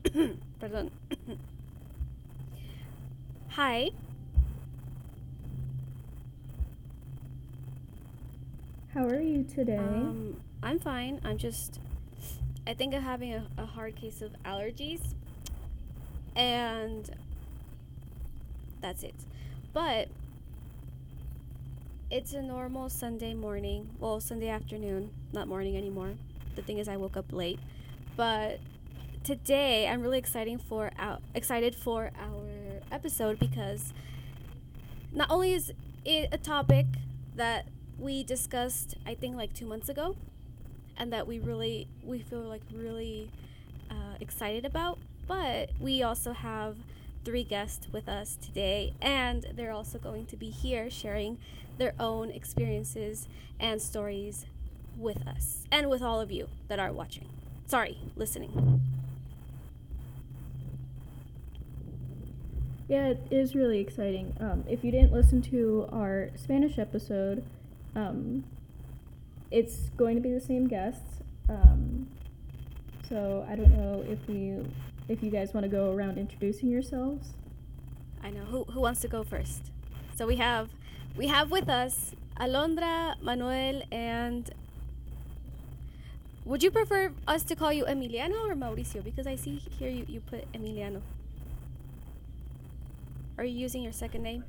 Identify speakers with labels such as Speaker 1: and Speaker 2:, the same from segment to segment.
Speaker 1: Perdón. Hi.
Speaker 2: How are you today?
Speaker 1: I'm fine. I think I'm having a hard case of allergies, and that's it. But it's a normal Sunday morning. Well, Sunday afternoon, not morning anymore. The thing is, I woke up late. But today, I'm really excited for our episode because not only is it a topic that we discussed, I think, like 2 months ago, and that we feel like really excited about, but we also have three guests with us today, and they're also going to be here sharing their own experiences and stories with us and with all of you that are watching. Sorry, listening.
Speaker 2: Yeah, it is really exciting. If you didn't listen to our Spanish episode, um, it's going to be the same guests. So I don't know if you guys want to go around introducing yourselves.
Speaker 1: I know who wants to go first. So we have with us Alondra, Manuel, and would you prefer us to call you Emiliano or Mauricio? Because I see here you put Emiliano. Are you using your second name?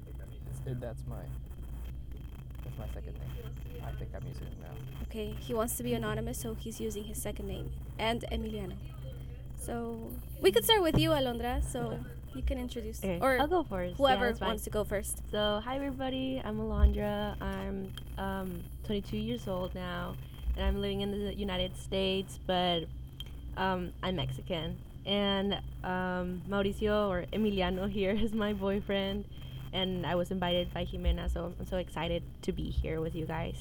Speaker 3: That's my second name. I think I'm using it now.
Speaker 1: Okay, he wants to be anonymous, so he's using his second name and Emiliano. So we could start with you, Alondra. So you can introduce,
Speaker 4: Okay,
Speaker 1: or
Speaker 4: I'll go first.
Speaker 1: whoever
Speaker 4: Yeah, that's fine.
Speaker 1: wants to go first.
Speaker 4: So, hi everybody. I'm Alondra. I'm 22 years old now, and I'm living in the United States, but I'm Mexican. And Mauricio or Emiliano here is my boyfriend, and I was invited by Jimena, so I'm so excited to be here with you guys.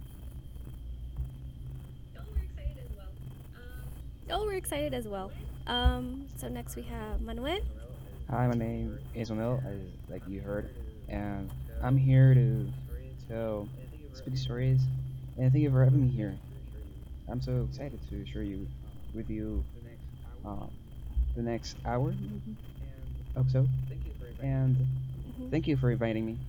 Speaker 1: Oh, we're excited as well. So next we have Manuel.
Speaker 5: Hi, my name is Manuel, as like you heard, and I'm here to tell spooky stories. And thank you for having me here. I'm so excited to share you with you uh, the next hour, maybe. Hope so. And thank you for inviting me.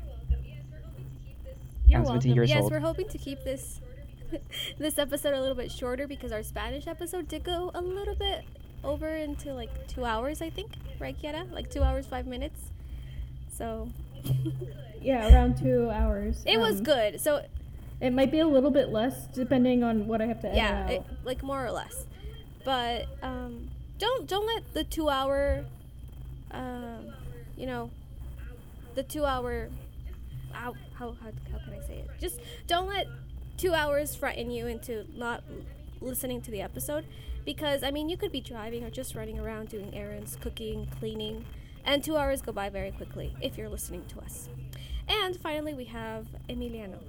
Speaker 1: You're
Speaker 5: I'm 17
Speaker 1: welcome.
Speaker 5: years
Speaker 1: Yes,
Speaker 5: old.
Speaker 1: we're hoping to keep this this episode a little bit shorter because our Spanish episode did go a little bit over into like 2 hours, I think. Right, Kiara? Like 2 hours, 5 minutes. So
Speaker 2: Yeah, around 2 hours.
Speaker 1: it was good. So
Speaker 2: It might be a little bit less depending on what I have to edit
Speaker 1: yeah,
Speaker 2: out.
Speaker 1: like more or less. But don't let the 2 hour, you know, the 2 hour. How can I say it? Just don't let 2 hours frighten you into not listening to the episode, because I mean you could be driving or just running around doing errands, cooking, cleaning, and 2 hours go by very quickly if you're listening to us. And finally, we have Emiliano.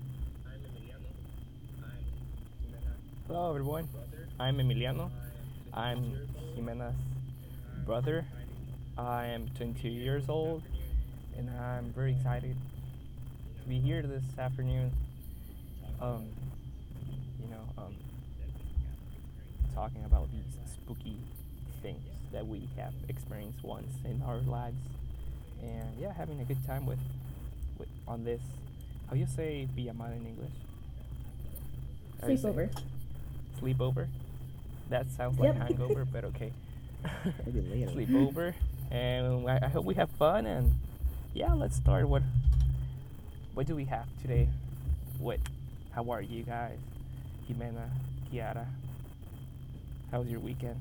Speaker 3: Hello everyone. I'm Emiliano. I'm Jimena's brother. I am 22 years old, and I'm very excited to be here this afternoon. Um, you know, um, talking about these spooky things that we have experienced once in our lives, and yeah, having a good time with on this. How you say pijamada in English? How you say it?
Speaker 2: Sleepover.
Speaker 3: Sleepover. That sounds like
Speaker 2: Yep.
Speaker 3: hangover, but okay.
Speaker 5: Maybe later.
Speaker 3: Sleepover, and I hope we have fun. And yeah, let's start. What do we have today? What? How are you guys? Jimena, Kiara. How was your weekend?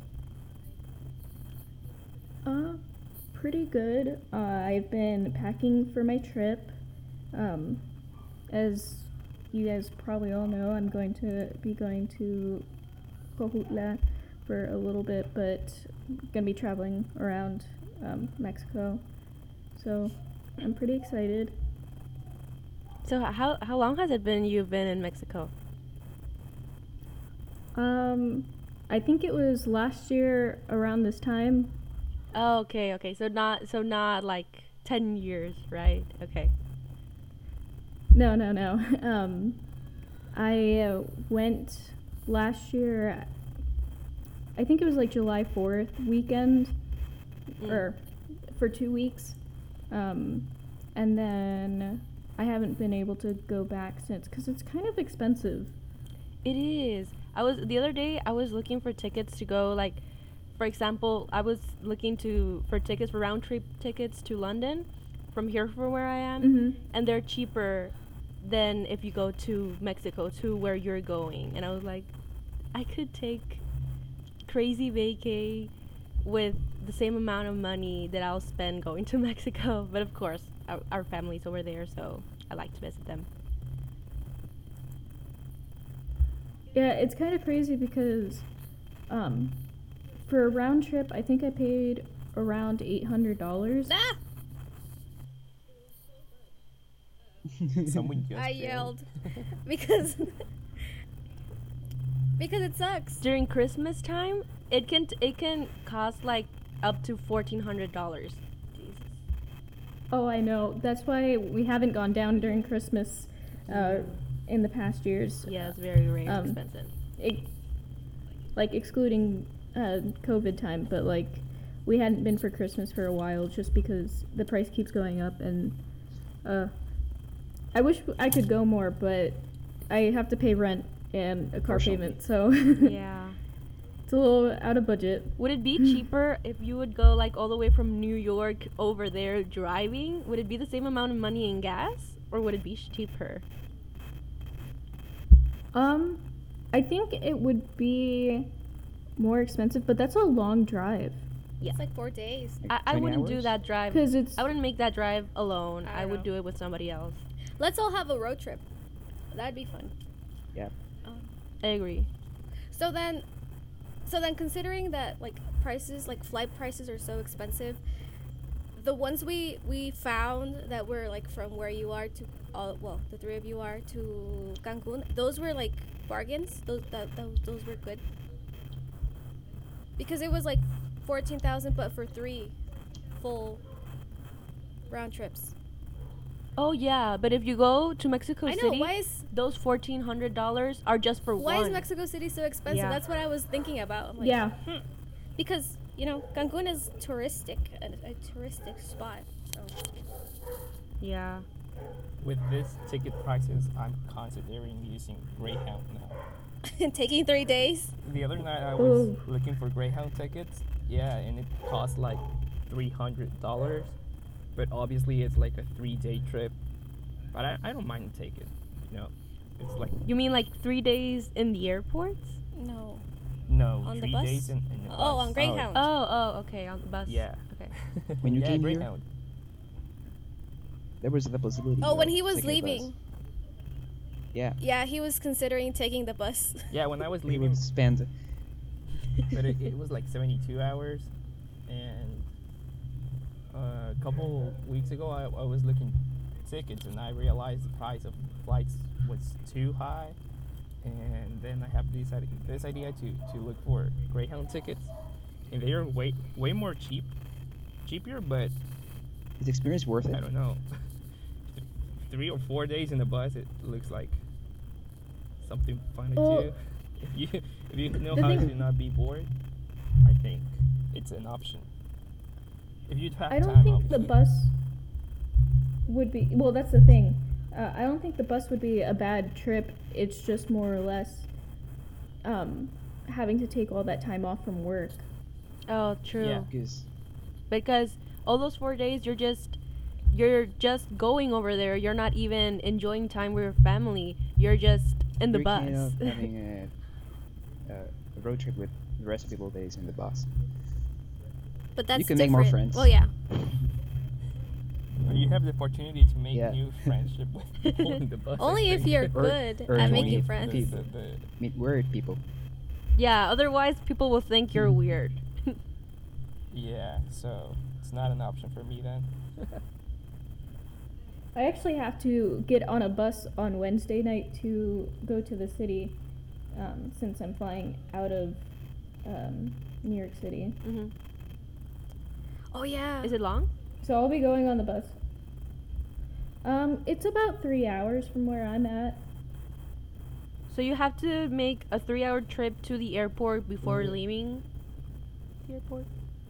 Speaker 2: Uh, Pretty good. I've been packing for my trip. As you guys probably all know, I'm going to be going to Cojutla for a little bit, but gonna be traveling around Mexico. So I'm pretty excited.
Speaker 4: So, how long has it been you've been in Mexico?
Speaker 2: I think it was last year around this time.
Speaker 4: Oh, okay. So not like 10 years, right? Okay.
Speaker 2: No. I went last year I think it was like July 4th weekend,
Speaker 4: Mm.
Speaker 2: or for 2 weeks. And then I haven't been able to go back since because it's kind of expensive.
Speaker 4: It is. The other day I was looking for tickets to go, like, for example, I was looking for tickets for round trip tickets to London from here from where I am,
Speaker 2: Mm-hmm.
Speaker 4: and they're cheaper than if you go to Mexico to where you're going. And I was like, I could take crazy vacay with the same amount of money that I'll spend going to Mexico. But of course, our family's over there, so I like to visit them.
Speaker 2: Yeah, it's kind of crazy because for a round trip, I think I paid around $800.
Speaker 1: Ah!
Speaker 3: Someone just
Speaker 1: I
Speaker 3: yelled.
Speaker 1: yelled because because it sucks.
Speaker 4: During Christmas time, it can cost like up to $1,400. Jesus.
Speaker 2: Oh, I know. That's why we haven't gone down during Christmas in the past years.
Speaker 4: Yeah, it's very, very
Speaker 2: Um,
Speaker 4: expensive.
Speaker 2: Like excluding COVID time, but like we hadn't been for Christmas for a while just because the price keeps going up, and I wish I could go more, but I have to pay rent and a car
Speaker 5: Partially.
Speaker 2: payment, so
Speaker 4: Yeah.
Speaker 2: it's a little out of budget.
Speaker 4: Would it be cheaper if you would go like all the way from New York over there driving? Would it be the same amount of money in gas, or would it be cheaper?
Speaker 2: I think it would be more expensive, but that's a long drive
Speaker 1: It's like 4 days.
Speaker 5: Like
Speaker 4: I
Speaker 5: 20
Speaker 4: wouldn't do
Speaker 5: hours?
Speaker 4: that drive.
Speaker 2: because it's
Speaker 4: I wouldn't make that drive alone.
Speaker 1: I
Speaker 4: I would
Speaker 1: know.
Speaker 4: do it with somebody else.
Speaker 1: Let's all have a road trip. That'd be fun.
Speaker 5: Yeah.
Speaker 4: I agree.
Speaker 1: So then considering that like prices, like flight prices are so expensive, the ones we found that were like from where you are to the three of you are to Cancun, those were like bargains. Those were good. Because it was like 14,000 but for 3 full round trips.
Speaker 4: Oh yeah, but if you go to Mexico
Speaker 1: I know,
Speaker 4: City, those $1,400 are just for
Speaker 1: why
Speaker 4: one.
Speaker 1: is Mexico City so expensive?
Speaker 4: Yeah.
Speaker 1: That's what I was thinking about. I'm like,
Speaker 2: yeah.
Speaker 1: because Cancun is touristic, a touristic spot. So.
Speaker 4: Yeah.
Speaker 3: With this ticket prices, I'm considering using Greyhound now.
Speaker 1: Taking 3 days.
Speaker 3: The other night I was
Speaker 2: Ooh.
Speaker 3: looking for Greyhound tickets. Yeah, and it cost like $300. But obviously it's like a 3-day trip. But I don't mind to take it. It's like
Speaker 4: You mean like 3 days in the airports?
Speaker 1: No.
Speaker 3: no
Speaker 1: On the
Speaker 3: 3
Speaker 1: bus?
Speaker 3: days in the bus.
Speaker 1: On Greyhound.
Speaker 4: Oh, okay, on the bus.
Speaker 3: Yeah.
Speaker 4: Okay.
Speaker 5: When you
Speaker 3: yeah,
Speaker 5: came here?
Speaker 3: Greyhound.
Speaker 5: There was the possibility.
Speaker 1: Oh, when
Speaker 5: of
Speaker 1: he was
Speaker 5: taking a bus.
Speaker 1: leaving.
Speaker 5: Yeah.
Speaker 1: Yeah, he was considering taking the bus.
Speaker 3: Yeah, when I was
Speaker 5: We
Speaker 3: leaving,
Speaker 5: would spend.
Speaker 3: but it was like 72 hours, and a couple weeks ago I was looking tickets and I realized the price of flights was too high, and then I have this idea to look for Greyhound tickets, and they are way more cheaper, but
Speaker 5: Is the experience worth it?
Speaker 3: I don't know. 3 or 4 days in the bus, it looks like something fun to
Speaker 2: Well,
Speaker 3: do. If you know
Speaker 2: the
Speaker 3: how
Speaker 2: thing-
Speaker 3: to not be bored, I think it's an option. If you have
Speaker 2: I don't
Speaker 3: time,
Speaker 2: think the
Speaker 3: obviously.
Speaker 2: bus would be. Well, that's the thing. I don't think the bus would be a bad trip. It's just more or less having to take all that time off from work.
Speaker 4: Oh, true.
Speaker 3: Yeah.
Speaker 4: Because all those 4 days you're just going over there. You're not even enjoying time with your family. You're just in the
Speaker 5: You're
Speaker 4: bus.
Speaker 5: kind of having a road trip with the rest of people days in the bus.
Speaker 1: But that's
Speaker 5: can make more
Speaker 1: different.
Speaker 5: friends.
Speaker 1: Well, yeah.
Speaker 3: You have the opportunity to make
Speaker 5: Yeah.
Speaker 3: new friendship with people in the bus. I
Speaker 1: Only if
Speaker 3: think.
Speaker 1: you're
Speaker 5: Or-
Speaker 1: good
Speaker 5: or
Speaker 1: at
Speaker 5: join
Speaker 1: making
Speaker 5: the
Speaker 1: friends.
Speaker 5: people. Meet weird people.
Speaker 4: Yeah, otherwise people will think you're weird.
Speaker 3: Yeah, so it's not an option for me then.
Speaker 2: I actually have to get on a bus on Wednesday night to go to the city, since I'm flying out of New York City.
Speaker 4: Hmm.
Speaker 1: Oh yeah.
Speaker 4: Is it long?
Speaker 2: So I'll be going on the bus. It's about 3 hours from where I'm at.
Speaker 4: So you have to make a 3-hour trip to the airport before
Speaker 3: Mhm.
Speaker 4: leaving the airport?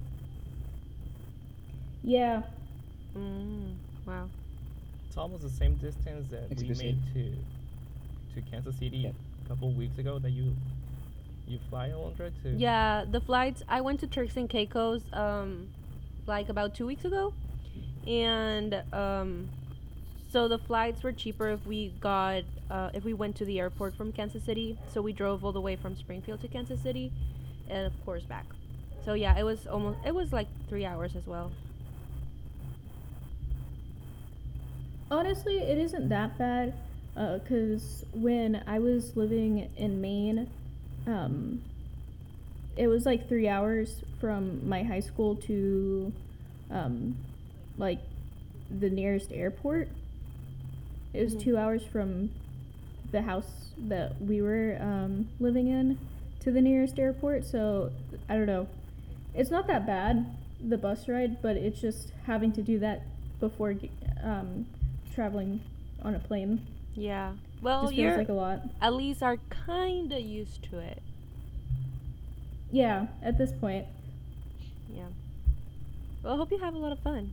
Speaker 2: Yeah.
Speaker 4: Wow.
Speaker 3: It's almost the same distance that we
Speaker 5: Mexico
Speaker 3: made to Kansas City
Speaker 5: Yeah.
Speaker 3: a couple of weeks ago that you fly, Alondra, to.
Speaker 4: Yeah, the flights. I went to Turks and Caicos like about 2 weeks ago, and so the flights were cheaper if we went to the airport from Kansas City. So we drove all the way from Springfield to Kansas City, and of course back. So yeah, it was like 3 hours as well.
Speaker 2: Honestly, it isn't that bad, because when I was living in Maine, it was like 3 hours from my high school to, like, the nearest airport. It was
Speaker 4: Mhm.
Speaker 2: 2 hours from the house that we were living in to the nearest airport, so I don't know. It's not that bad, the bus ride, but it's just having to do that before traveling on a plane.
Speaker 4: Yeah. Well,
Speaker 2: Just feels
Speaker 4: you're
Speaker 2: like a lot.
Speaker 4: at least are kinda used to it.
Speaker 2: Yeah, at this point.
Speaker 4: Yeah. Well, I hope you have a lot of fun.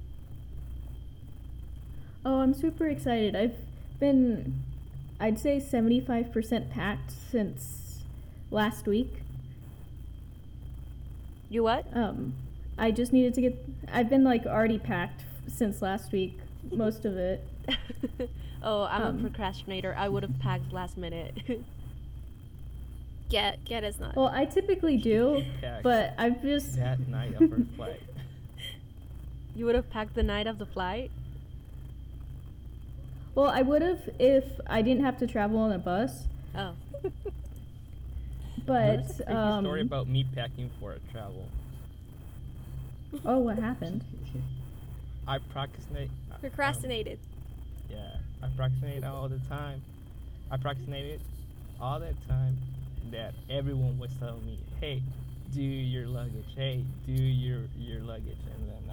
Speaker 2: Oh, I'm super excited. I've been, I'd say 75% packed since last week.
Speaker 4: You what?
Speaker 2: I just needed to get, I've been like already packed since last week, most of it.
Speaker 4: Oh, I'm a
Speaker 2: Um,
Speaker 4: procrastinator. I would have packed last minute.
Speaker 1: Get is not.
Speaker 2: Well, I typically do,
Speaker 3: Packed
Speaker 2: but I've just,
Speaker 3: that night of our flight.
Speaker 4: You would have packed the night of the flight?
Speaker 2: well, I would have if I didn't have to travel on a bus,
Speaker 4: Oh.
Speaker 2: but,
Speaker 3: There's a creepy story about me packing for a travel.
Speaker 2: oh, what happened?
Speaker 3: I procrastinate.
Speaker 1: Procrastinated.
Speaker 3: Yeah, I procrastinate all the time. I procrastinated all that time that everyone was telling me, "Hey, do your luggage. Hey, do your luggage." And then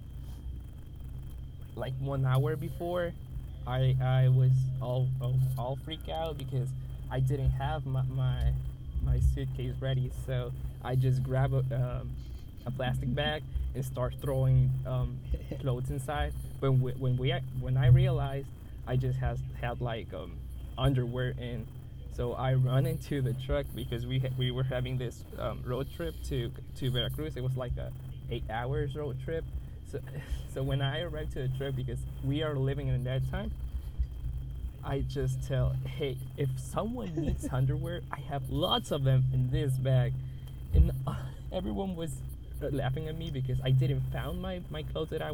Speaker 3: like 1 hour before, I was all freaked out because I didn't have my suitcase ready. So I just grab a plastic bag and start throwing clothes inside. But when I realized I just had like underwear in, so I run into the truck because we were having this road trip to Veracruz. It was like a 8 hours road trip. So when I arrived to the truck, because we are living in that time, I just tell, hey, if someone needs underwear, I have lots of them in this bag, and everyone was laughing at me because I didn't found my clothes that I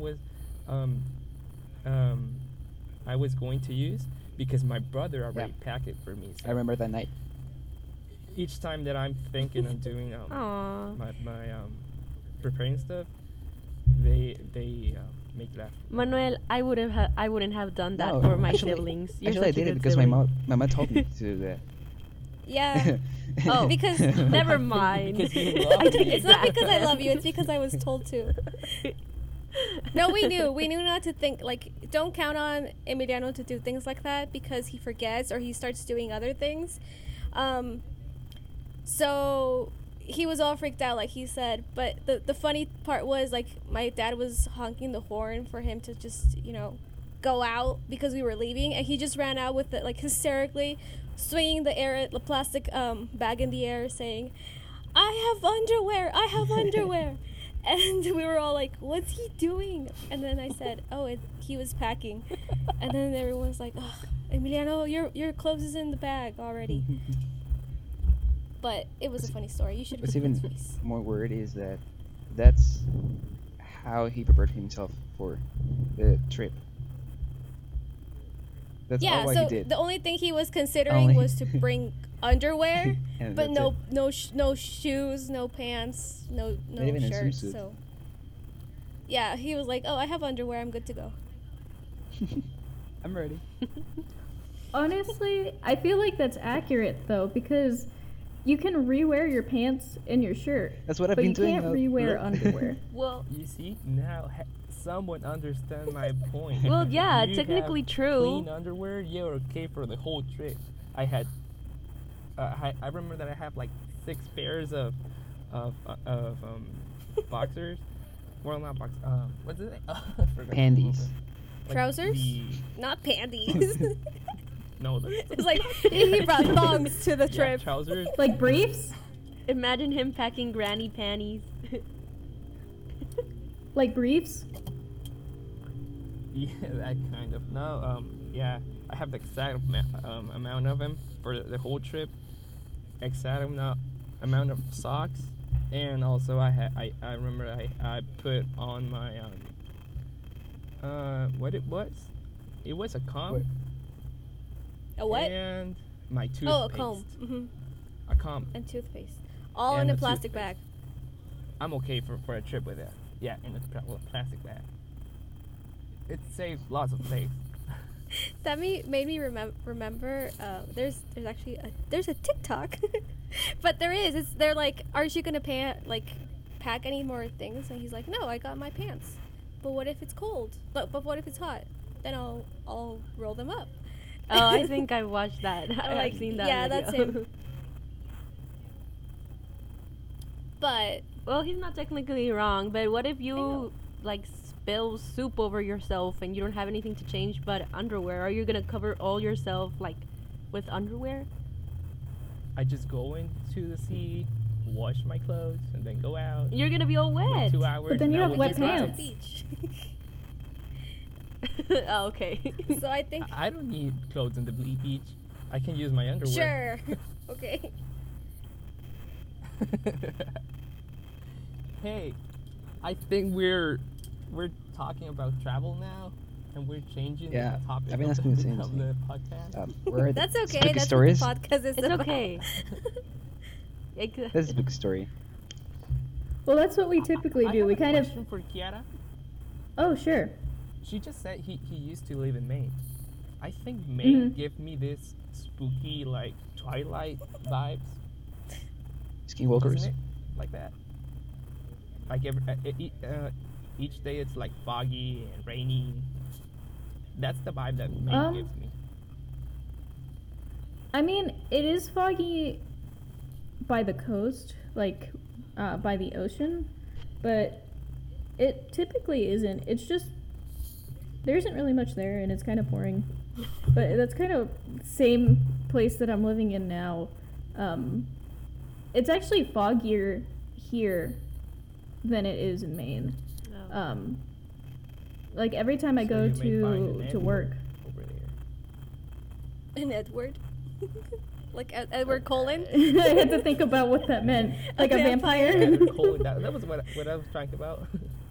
Speaker 3: was going to use because my brother already packed it for me.
Speaker 5: I remember that night.
Speaker 3: Each time that I'm thinking of doing
Speaker 4: Aw.
Speaker 3: my preparing stuff, they make laugh.
Speaker 4: Manuel, I wouldn't have done that
Speaker 5: No,
Speaker 4: for my
Speaker 5: actually-
Speaker 4: siblings. You're
Speaker 5: Actually, I
Speaker 4: such a
Speaker 5: did it
Speaker 4: good
Speaker 5: because
Speaker 4: sibling.
Speaker 5: my mom told me to do that.
Speaker 1: Yeah.
Speaker 4: Oh,
Speaker 1: Because-
Speaker 4: never mind.
Speaker 3: Because you love
Speaker 4: I did
Speaker 3: me.
Speaker 1: It's not because I
Speaker 4: that.
Speaker 1: love you. It's because I was told to. No, we knew. We knew not to think. Like, don't count on Emiliano to do things like that because he forgets or he starts doing other things. So he was all freaked out, like he said. But the funny part was, like, my dad was honking the horn for him to just, go out because we were leaving. And he just ran out with it, like, hysterically swinging the plastic bag in the air saying, I have underwear. And we were all like, what's he doing? And then I said, he was packing. And then everyone was like, oh, Emiliano, your clothes is in the bag already. But it was a funny story. You should have
Speaker 5: What's
Speaker 1: seen his
Speaker 5: even
Speaker 1: face.
Speaker 5: more weird is that that's how he prepared himself for the trip. That's
Speaker 1: Yeah,
Speaker 5: all what
Speaker 1: so
Speaker 5: he did.
Speaker 1: the only thing he was considering
Speaker 5: Only-
Speaker 1: was to bring underwear,
Speaker 5: And
Speaker 1: but
Speaker 5: that's
Speaker 1: no
Speaker 5: it.
Speaker 1: no shoes, no pants, no
Speaker 5: Not even a
Speaker 1: shirt.
Speaker 5: swimsuit.
Speaker 1: So yeah, he was like, "Oh, I have underwear. I'm good to go."
Speaker 5: I'm ready.
Speaker 2: Honestly, I feel like that's accurate though, because you can rewear your pants and your shirt,
Speaker 5: That's what I've
Speaker 2: but
Speaker 5: been
Speaker 2: you
Speaker 5: doing.
Speaker 2: can't rewear underwear.
Speaker 4: Well,
Speaker 3: You see now, someone understand my point.
Speaker 4: well, yeah,
Speaker 3: You
Speaker 4: technically
Speaker 3: have
Speaker 4: true.
Speaker 3: Clean underwear, you're okay for the whole trip. I had I remember that I have like 6 pairs of boxers. Well, not box. What's it? I forgot.
Speaker 5: Panties.
Speaker 3: Like
Speaker 1: Trousers?
Speaker 3: the-
Speaker 1: Not panties.
Speaker 3: no,
Speaker 1: It's like he brought thongs to the
Speaker 3: yeah,
Speaker 1: trip.
Speaker 3: trousers.
Speaker 2: Like briefs?
Speaker 4: Imagine him packing granny panties.
Speaker 2: Like briefs?
Speaker 3: Yeah, that kind of. No, yeah, I have the exact amount of them for the whole trip. Exact amount of socks, and also I remember I put on my what it was. It was a comb.
Speaker 5: What?
Speaker 1: A what?
Speaker 3: And my toothpaste.
Speaker 1: Oh, a comb. Hmm.
Speaker 3: A comb.
Speaker 1: And toothpaste. All
Speaker 3: And
Speaker 1: in a
Speaker 3: a
Speaker 1: plastic
Speaker 3: toothpaste.
Speaker 1: bag.
Speaker 3: I'm okay for a trip with that. Yeah, in a plastic bag. It saves lots of space.
Speaker 1: That made me remember. There's actually there's a TikTok, but they're like, aren't you gonna pack any more things? And he's like, no, I got my pants. But what if it's cold? But what if it's hot? Then I'll roll them up.
Speaker 4: Oh, I think I watched that.
Speaker 1: Like,
Speaker 4: I've seen that.
Speaker 1: yeah,
Speaker 4: video.
Speaker 1: that's him. But
Speaker 4: Well, he's not technically wrong, but what if
Speaker 1: know.
Speaker 4: you like spill soup over yourself and you don't have anything to change but underwear? Are you gonna cover all yourself like with underwear?
Speaker 3: I just go into the sea, wash my clothes, and then go out.
Speaker 4: You're gonna be all
Speaker 3: Wait
Speaker 4: wet.
Speaker 3: 2 hours.
Speaker 2: But then
Speaker 3: and
Speaker 2: you
Speaker 3: I
Speaker 2: have
Speaker 3: will
Speaker 2: wet
Speaker 3: be dry.
Speaker 2: pants.
Speaker 1: beach.
Speaker 4: Oh, okay.
Speaker 1: So I think
Speaker 3: I don't need clothes on the beach. I can use my underwear.
Speaker 1: sure. Okay.
Speaker 3: Hey, I think we're talking about travel now, and we're changing
Speaker 5: Yeah,
Speaker 3: the topic
Speaker 5: I've been
Speaker 3: of
Speaker 5: asking the same
Speaker 3: of
Speaker 5: thing.
Speaker 3: the podcast.
Speaker 5: Where are
Speaker 1: That's
Speaker 5: the
Speaker 1: okay.
Speaker 5: spooky
Speaker 1: That's
Speaker 5: stories?
Speaker 1: what the podcast is
Speaker 4: It's
Speaker 1: about.
Speaker 4: okay.
Speaker 5: That's a big story.
Speaker 2: Well, that's what we typically
Speaker 3: I
Speaker 2: do.
Speaker 3: have
Speaker 2: We
Speaker 3: a
Speaker 2: kind of.
Speaker 3: question for Kiara.
Speaker 2: Oh, sure.
Speaker 3: She just said he used to live in Maine. I think Maine
Speaker 2: Mhm.
Speaker 3: give me this spooky like Twilight vibes,
Speaker 5: Skinwalkers.
Speaker 3: doesn't it? Like that. Like each day it's like foggy and rainy. That's the vibe that Maine gives me.
Speaker 2: I mean, it is foggy by the coast, like by the ocean, but it typically isn't. It's just there isn't really much there, and it's kind of boring. But that's kind of same place that I'm living in now. It's actually foggier here than it is in Maine.
Speaker 4: Oh.
Speaker 2: Like every time I
Speaker 3: So
Speaker 2: go
Speaker 3: you may find an
Speaker 2: to
Speaker 3: Edward
Speaker 2: work.
Speaker 3: over there.
Speaker 1: An Edward. Like Edward Cullen.
Speaker 2: I had to think about what that meant. Like a vampire.
Speaker 3: Edward Cullen, that was what I was trying about.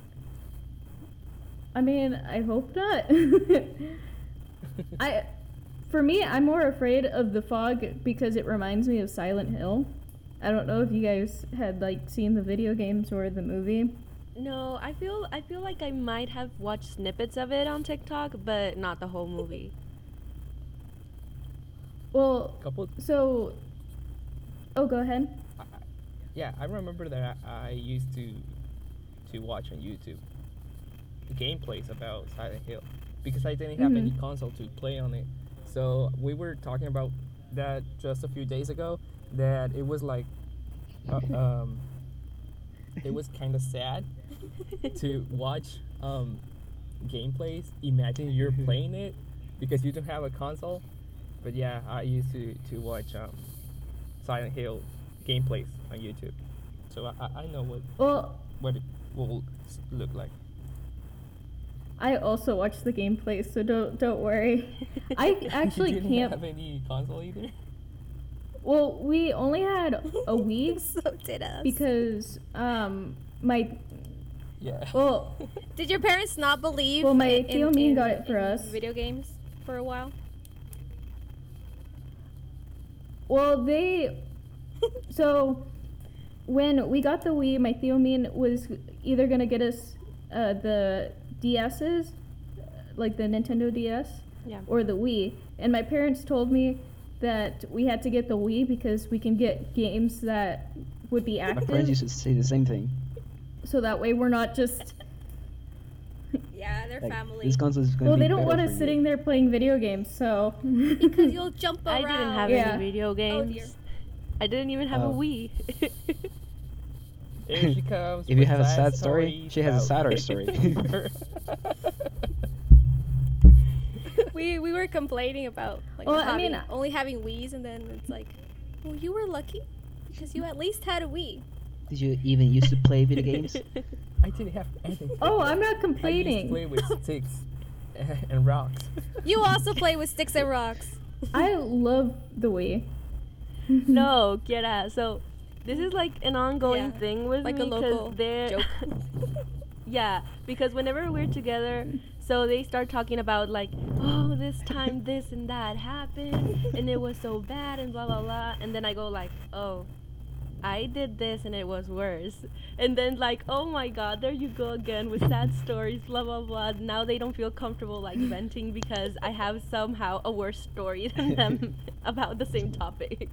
Speaker 2: I mean, I hope not. For me, I'm more afraid of the fog because it reminds me of Silent Hill. I don't know if you guys had like seen the video games or the movie.
Speaker 4: No, I feel like I might have watched snippets of it on TikTok, but not the whole movie.
Speaker 2: Well,
Speaker 3: Couple.
Speaker 2: so oh, go ahead.
Speaker 3: Yeah, I remember that I used to watch on YouTube gameplays about Silent Hill because I didn't have any console to play on it. So we were talking about that just a few days ago. That it was like, it was kind of sad to watch gameplays. Imagine you're playing it because you don't have a console. But yeah, I used to watch Silent Hill gameplays on YouTube, so I know what it will look like.
Speaker 2: I also watched the gameplay, so don't worry. I actually
Speaker 3: you didn't
Speaker 2: can't.
Speaker 3: have any console either.
Speaker 2: Well, we only had a Wii
Speaker 1: So did us.
Speaker 2: because my
Speaker 3: Yeah.
Speaker 2: well
Speaker 1: Did your parents not believe?
Speaker 2: Well, my
Speaker 1: in-
Speaker 2: tío Min
Speaker 1: in-
Speaker 2: got it for
Speaker 1: in
Speaker 2: us.
Speaker 1: Video games for a while.
Speaker 2: they so when we got the Wii, my tío Min was either gonna get us the DS's, like the Nintendo DS,
Speaker 4: Yeah.
Speaker 2: or the Wii. And my parents told me that we had to get the Wii because we can get games that would be
Speaker 5: My friends
Speaker 2: active,
Speaker 5: used to say the same thing.
Speaker 2: so that way we're not just.
Speaker 1: Yeah, their
Speaker 5: Like,
Speaker 1: family.
Speaker 5: this console is going to
Speaker 2: Well,
Speaker 5: be
Speaker 2: they don't
Speaker 5: better
Speaker 2: want
Speaker 5: for
Speaker 2: us
Speaker 5: you.
Speaker 2: sitting there playing video games, so.
Speaker 1: Because you'll jump
Speaker 4: I
Speaker 1: around.
Speaker 4: didn't have
Speaker 2: Yeah.
Speaker 4: any video
Speaker 1: Oh dear.
Speaker 4: games. I didn't even have a
Speaker 5: Oh.
Speaker 4: Wii.
Speaker 3: Here she comes.
Speaker 5: If you
Speaker 3: with
Speaker 5: have a sad story,
Speaker 3: stories
Speaker 5: she has a
Speaker 3: about
Speaker 5: sadder
Speaker 3: gaming
Speaker 5: story.
Speaker 3: over.
Speaker 1: We were complaining about like
Speaker 2: Well,
Speaker 1: not
Speaker 2: I mean,
Speaker 1: only having Wii's, and then it's like, well, you were lucky because you at least had a Wii.
Speaker 5: Did you even used to play video games?
Speaker 3: I didn't have anything.
Speaker 2: Oh, I'm not
Speaker 3: I used to
Speaker 2: complaining.
Speaker 3: play with sticks and rocks.
Speaker 1: You also play with sticks and rocks.
Speaker 2: I love the Wii.
Speaker 4: No, Kiera. So this is like an ongoing
Speaker 1: Yeah,
Speaker 4: thing with
Speaker 1: like
Speaker 4: me
Speaker 1: a local
Speaker 4: they're
Speaker 1: joke.
Speaker 4: yeah, because whenever we're together, so they start talking about like, oh, this time this and that happened, and it was so bad, and blah blah blah, and then I go like, oh, I did this and it was worse, and then like, oh my God, there you go again with sad stories, blah blah blah. Now they don't feel comfortable like venting because I have somehow a worse story than them about the same topic.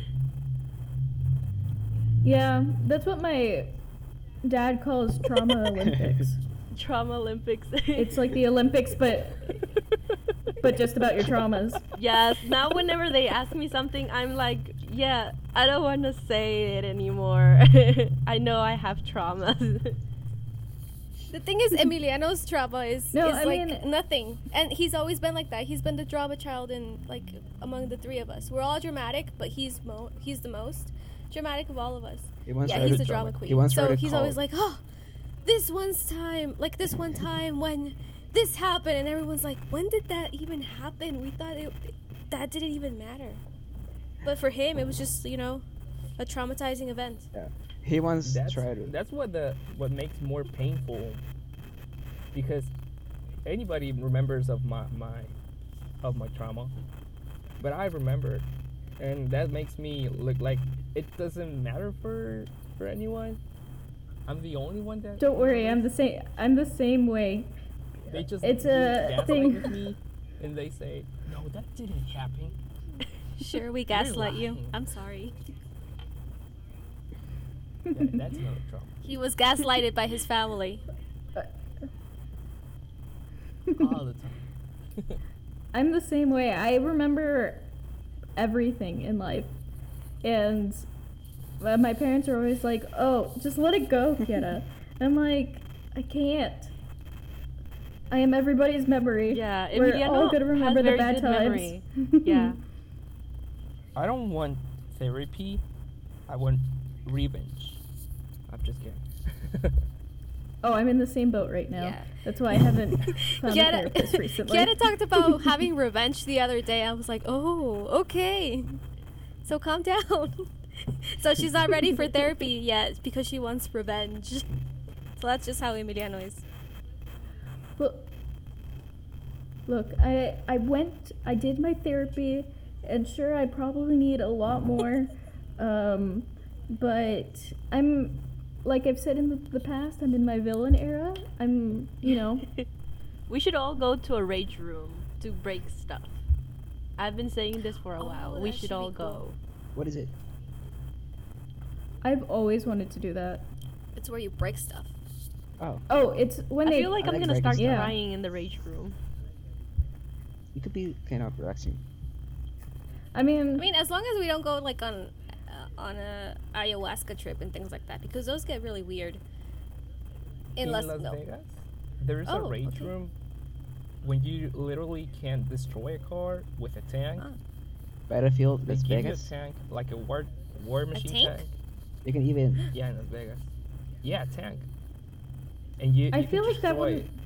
Speaker 2: Yeah, that's what my dad calls trauma Olympics.
Speaker 4: Trauma Olympics.
Speaker 2: It's like the Olympics, but just about your traumas.
Speaker 4: Yes, now whenever they ask me something, I'm like, yeah, I don't want to say it anymore. I know I have traumas.
Speaker 1: The thing is, Emiliano's trauma is
Speaker 2: No,
Speaker 1: is
Speaker 2: I
Speaker 1: like
Speaker 2: mean-
Speaker 1: nothing, and he's always been like that. He's been the drama child in like among the three of us. We're all dramatic, but he's the most dramatic of all of us.
Speaker 5: He once
Speaker 1: Yeah,
Speaker 5: read
Speaker 1: he's
Speaker 5: a
Speaker 1: the drama queen.
Speaker 5: He once
Speaker 1: So
Speaker 5: read a
Speaker 1: he's
Speaker 5: call.
Speaker 1: always like, oh, this one time when this happened, and everyone's like, when did that even happen? We thought that didn't even matter. But for him, it was just a traumatizing event.
Speaker 5: He once
Speaker 3: That's
Speaker 5: tried to.
Speaker 3: that's what makes more painful, because anybody remembers of my trauma, but I remember, and that makes me look like it doesn't matter for anyone. I'm the only one that.
Speaker 2: Don't worry, I'm
Speaker 3: remembers.
Speaker 2: the same. I'm the same way.
Speaker 3: They just
Speaker 2: It's a
Speaker 3: gaslight
Speaker 2: thing.
Speaker 3: with me, and they say, "No, that didn't happen."
Speaker 1: Sure, we
Speaker 3: You're
Speaker 1: gaslight you.
Speaker 3: lying.
Speaker 1: I'm sorry.
Speaker 3: That's not a trauma.
Speaker 1: He was gaslighted by his family.
Speaker 3: All the time.
Speaker 2: I'm the same way. I remember everything in life, and my parents are always like, "Oh, just let it go, Kieta." I'm like, I can't. I am everybody's memory.
Speaker 4: Yeah,
Speaker 2: We're
Speaker 4: Emiliano
Speaker 2: all gonna remember
Speaker 4: has
Speaker 2: the
Speaker 4: very
Speaker 2: bad
Speaker 4: good
Speaker 2: times.
Speaker 4: memory. Yeah.
Speaker 3: I don't want therapy. I want revenge. I'm just kidding.
Speaker 2: Oh, I'm in the same boat right now.
Speaker 1: Yeah.
Speaker 2: That's why I haven't found a therapist recently.
Speaker 1: Kieta talked about having revenge the other day. I was like, oh, okay. So calm down. So she's not ready for therapy yet because she wants revenge. So that's just how Emiliano is.
Speaker 2: Look, I did my therapy, and sure, I probably need a lot more. But I'm, like I've said in the past, I'm in my villain era. I'm,
Speaker 4: We should all go to a rage room to break stuff. I've been saying this for a
Speaker 1: Oh,
Speaker 4: while. We
Speaker 1: that
Speaker 4: should
Speaker 1: should
Speaker 4: all
Speaker 1: be
Speaker 4: go.
Speaker 1: cool.
Speaker 5: What is it?
Speaker 2: I've always wanted to do that.
Speaker 1: It's where you break stuff.
Speaker 5: Oh,
Speaker 2: Oh, it's when
Speaker 4: I
Speaker 2: they.
Speaker 4: feel like
Speaker 5: I
Speaker 4: I'm
Speaker 5: like
Speaker 4: gonna
Speaker 5: breaking
Speaker 4: start
Speaker 5: stuff.
Speaker 2: Yeah.
Speaker 4: crying in the rage room.
Speaker 5: it could be kind of relaxing.
Speaker 2: I mean,
Speaker 1: I mean, as long as we don't go like on a ayahuasca trip and things like that, because those get really weird.
Speaker 3: In Las
Speaker 1: no.
Speaker 3: Vegas, there is a
Speaker 1: Oh,
Speaker 3: rage
Speaker 1: okay.
Speaker 3: room when you literally can destroy a car with a tank.
Speaker 1: Ah.
Speaker 5: Battlefield,
Speaker 3: They
Speaker 5: Las
Speaker 3: give
Speaker 5: Vegas.
Speaker 3: you a tank, like a war machine
Speaker 1: tank?
Speaker 3: tank.
Speaker 5: You can even.
Speaker 3: Yeah, in Las Vegas. Yeah, a tank. And you
Speaker 2: I
Speaker 3: can
Speaker 2: feel like that
Speaker 3: destroy
Speaker 2: wouldn't.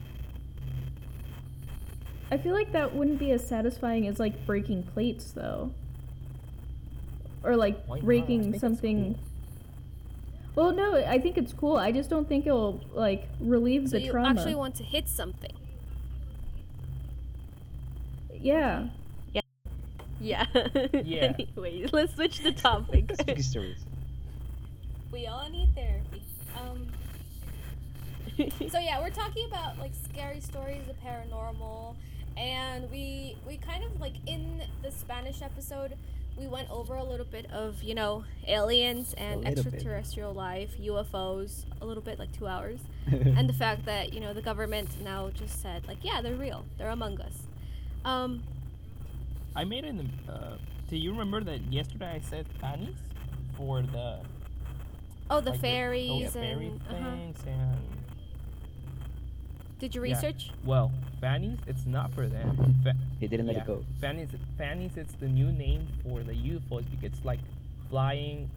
Speaker 2: I feel like that wouldn't be as satisfying as like breaking plates, though. Or like
Speaker 3: Why not? I
Speaker 2: breaking
Speaker 3: think it's
Speaker 2: something.
Speaker 3: cool.
Speaker 2: Well, no, I think it's cool. I just don't think it'll like relieve
Speaker 1: So
Speaker 2: the
Speaker 1: you
Speaker 2: trauma.
Speaker 1: actually want to hit something.
Speaker 2: Yeah.
Speaker 4: Yeah.
Speaker 3: Yeah.
Speaker 4: Anyways, let's switch the topic.
Speaker 5: Spooky stories.
Speaker 1: We all need therapy. So yeah, we're talking about like scary stories of paranormal, and we kind of like in the Spanish episode we went over a little bit of aliens and
Speaker 5: A little bit.
Speaker 1: extraterrestrial life, UFOs, a little bit like 2 hours, and the fact that the government now just said like, yeah, they're real, they're among us.
Speaker 3: I made it in the. Do you remember that yesterday I said Tanis? for the
Speaker 1: Oh, the
Speaker 3: like
Speaker 1: fairies
Speaker 3: the fairy
Speaker 1: and
Speaker 3: things and
Speaker 1: Did you
Speaker 3: Yeah.
Speaker 1: research?
Speaker 3: well, fannies. It's not for them.
Speaker 5: They didn't let
Speaker 3: yeah,
Speaker 5: it go.
Speaker 3: fannies. It's the new name for the UFOs because it's like flying.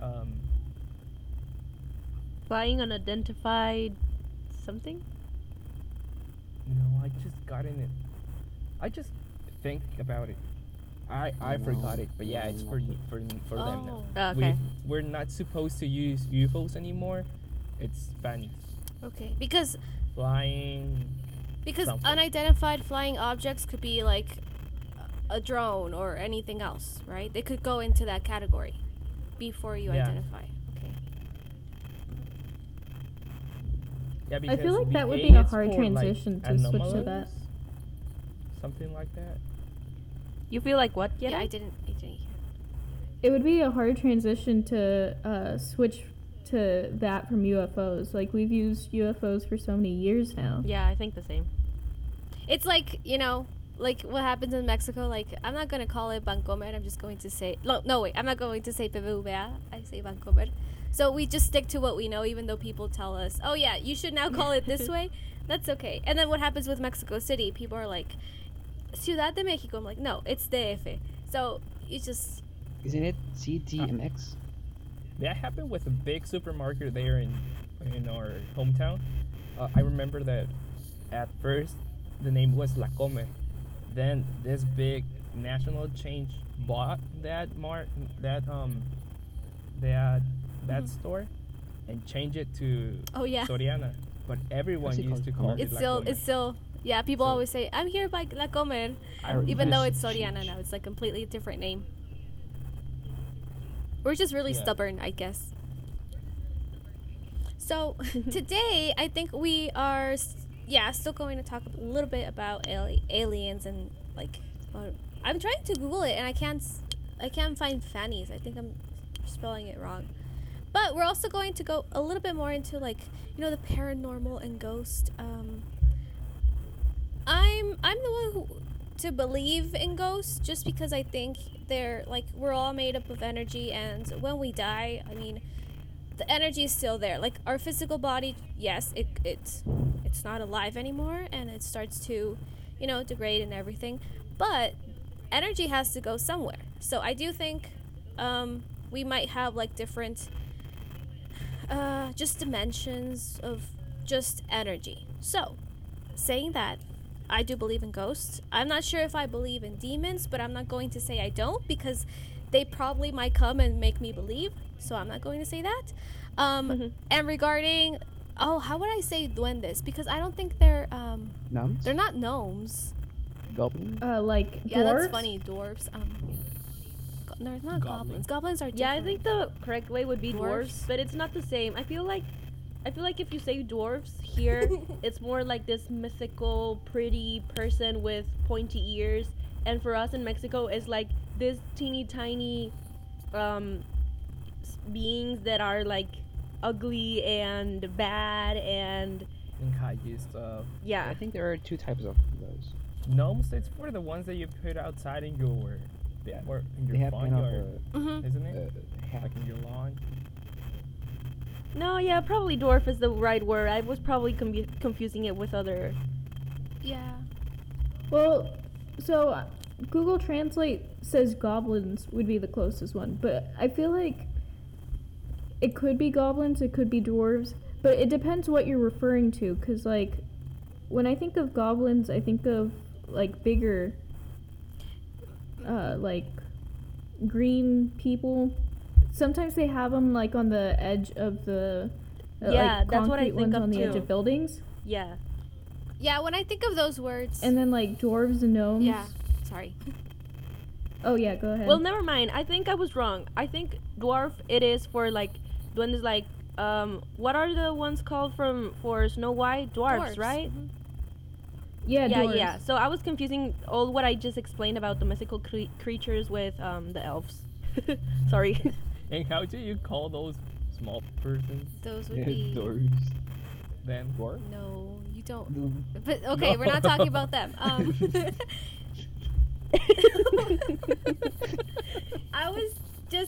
Speaker 4: Flying unidentified something?
Speaker 3: No, I just got in it. I just think about it. I forgot it, but yeah, it's for them now.
Speaker 1: Oh,
Speaker 4: Okay.
Speaker 3: We're not supposed to use UFOs anymore. It's fannies.
Speaker 1: okay. Because
Speaker 3: Flying. Something.
Speaker 1: unidentified flying objects could be like a drone or anything else, right? They could go into that category before you
Speaker 3: Yeah.
Speaker 1: identify. Okay.
Speaker 3: Yeah,
Speaker 2: I feel
Speaker 3: because
Speaker 2: like that would
Speaker 3: VA
Speaker 2: be a
Speaker 3: is
Speaker 2: hard
Speaker 3: for, like,
Speaker 2: transition to switch to that.
Speaker 3: anomalies, something like that.
Speaker 4: You feel like what?
Speaker 1: Yeah,
Speaker 4: Yetta?
Speaker 1: I didn't hear.
Speaker 2: It would be a hard transition to switch to that from UFOs. Like, we've used UFOs for so many years now.
Speaker 4: Yeah, I think the same.
Speaker 1: It's like, like what happens in Mexico. Like, I'm not going to call it Bancomer. I'm just going to say... No, wait. I'm not going to say PBVA. I say Bancomer. So we just stick to what we know, even though people tell us, oh, yeah, you should now call it this way. That's okay. And then what happens with Mexico City? People are like, Ciudad de Mexico. I'm like, no, it's DF. So you just...
Speaker 5: Isn't it CDMX?
Speaker 3: That happened with a big supermarket there in our hometown. I remember that at first the name was La Come. Then this big national chain bought that store and changed it to
Speaker 1: Oh, yeah.
Speaker 3: Soriana. But everyone
Speaker 5: What's it
Speaker 3: used to
Speaker 5: called?
Speaker 3: call it
Speaker 1: It's
Speaker 3: La
Speaker 1: still,
Speaker 3: Come.
Speaker 1: it's still, yeah, people
Speaker 3: So-
Speaker 1: always say, I'm here by La Comer, even though it's Soriana now. It's like completely different name. We're just really
Speaker 3: Yeah.
Speaker 1: stubborn, I guess. So today, I think we are, still going to talk a little bit about aliens and like, I'm trying to Google it and I can't find fannies. I think I'm spelling it wrong. But we're also going to go a little bit more into like, the paranormal and ghost. I'm the one who to believe in ghosts just because I think they're like we're all made up of energy, and when we die, I mean, the energy is still there. Like our physical body, yes, it's not alive anymore, and it starts to, degrade and everything. But energy has to go somewhere. So I do think we might have like different just dimensions of just energy. So, saying that, I do believe in ghosts. I'm not sure if I believe in demons, but I'm not going to say I don't because they probably might come and make me believe. So I'm not going to say that. And regarding, how would I say duendes? Because I don't think they're
Speaker 5: Nuns?
Speaker 1: they're not gnomes.
Speaker 5: Goblins?
Speaker 2: Like
Speaker 1: Yeah,
Speaker 2: dwarves?
Speaker 1: that's funny. Dwarves. No, it's not goblins.
Speaker 3: Goblins.
Speaker 1: Goblins are different.
Speaker 4: Yeah, I think the correct way would be
Speaker 1: Dwarfs?
Speaker 4: dwarves, but it's not the same. I feel like if you say dwarves here, it's more like this mythical, pretty person with pointy ears, and for us in Mexico, it's like this teeny tiny beings that are like ugly and bad and
Speaker 3: And kaiju stuff.
Speaker 4: yeah.
Speaker 5: I think there are two types of those.
Speaker 3: Gnomes, it's for the ones that you put outside in your
Speaker 5: Yeah.
Speaker 3: or in
Speaker 5: They
Speaker 3: your
Speaker 5: have kind of
Speaker 3: barnyard,
Speaker 1: Mhm.
Speaker 3: isn't
Speaker 5: a
Speaker 3: it?
Speaker 5: hat.
Speaker 3: Like in your lawn.
Speaker 4: No, yeah, probably dwarf is the right word. I was probably confusing it with other.
Speaker 1: Yeah.
Speaker 2: Well, so Google Translate says goblins would be the closest one, but I feel like it could be goblins, it could be dwarves, but it depends what you're referring to, because, like, when I think of goblins, I think of, like, bigger, like, green people. Sometimes they have them, like, on the edge of the,
Speaker 4: Yeah,
Speaker 2: like,
Speaker 4: that's what I
Speaker 2: concrete
Speaker 4: think
Speaker 2: ones
Speaker 4: of
Speaker 2: on the edge
Speaker 4: too.
Speaker 2: of buildings.
Speaker 4: Yeah.
Speaker 1: Yeah, when I think of those words.
Speaker 2: And then, like, dwarves and gnomes.
Speaker 1: Yeah. Sorry.
Speaker 2: Oh, yeah, go ahead.
Speaker 4: Well, never mind. I think I was wrong. I think dwarf it is for like duendes like what are the ones called for Snow White? Dwarfs, right?
Speaker 1: Mhm.
Speaker 2: Yeah,
Speaker 4: Yeah,
Speaker 2: dwarves.
Speaker 4: yeah. So I was confusing all what I just explained about the mythical creatures with the elves. Sorry.
Speaker 3: And how do you call those small persons
Speaker 1: Those would be.
Speaker 5: Doors.
Speaker 3: then?
Speaker 5: Dwarf?
Speaker 1: No, you don't.
Speaker 5: No.
Speaker 1: But okay, we're not talking about them. I was just going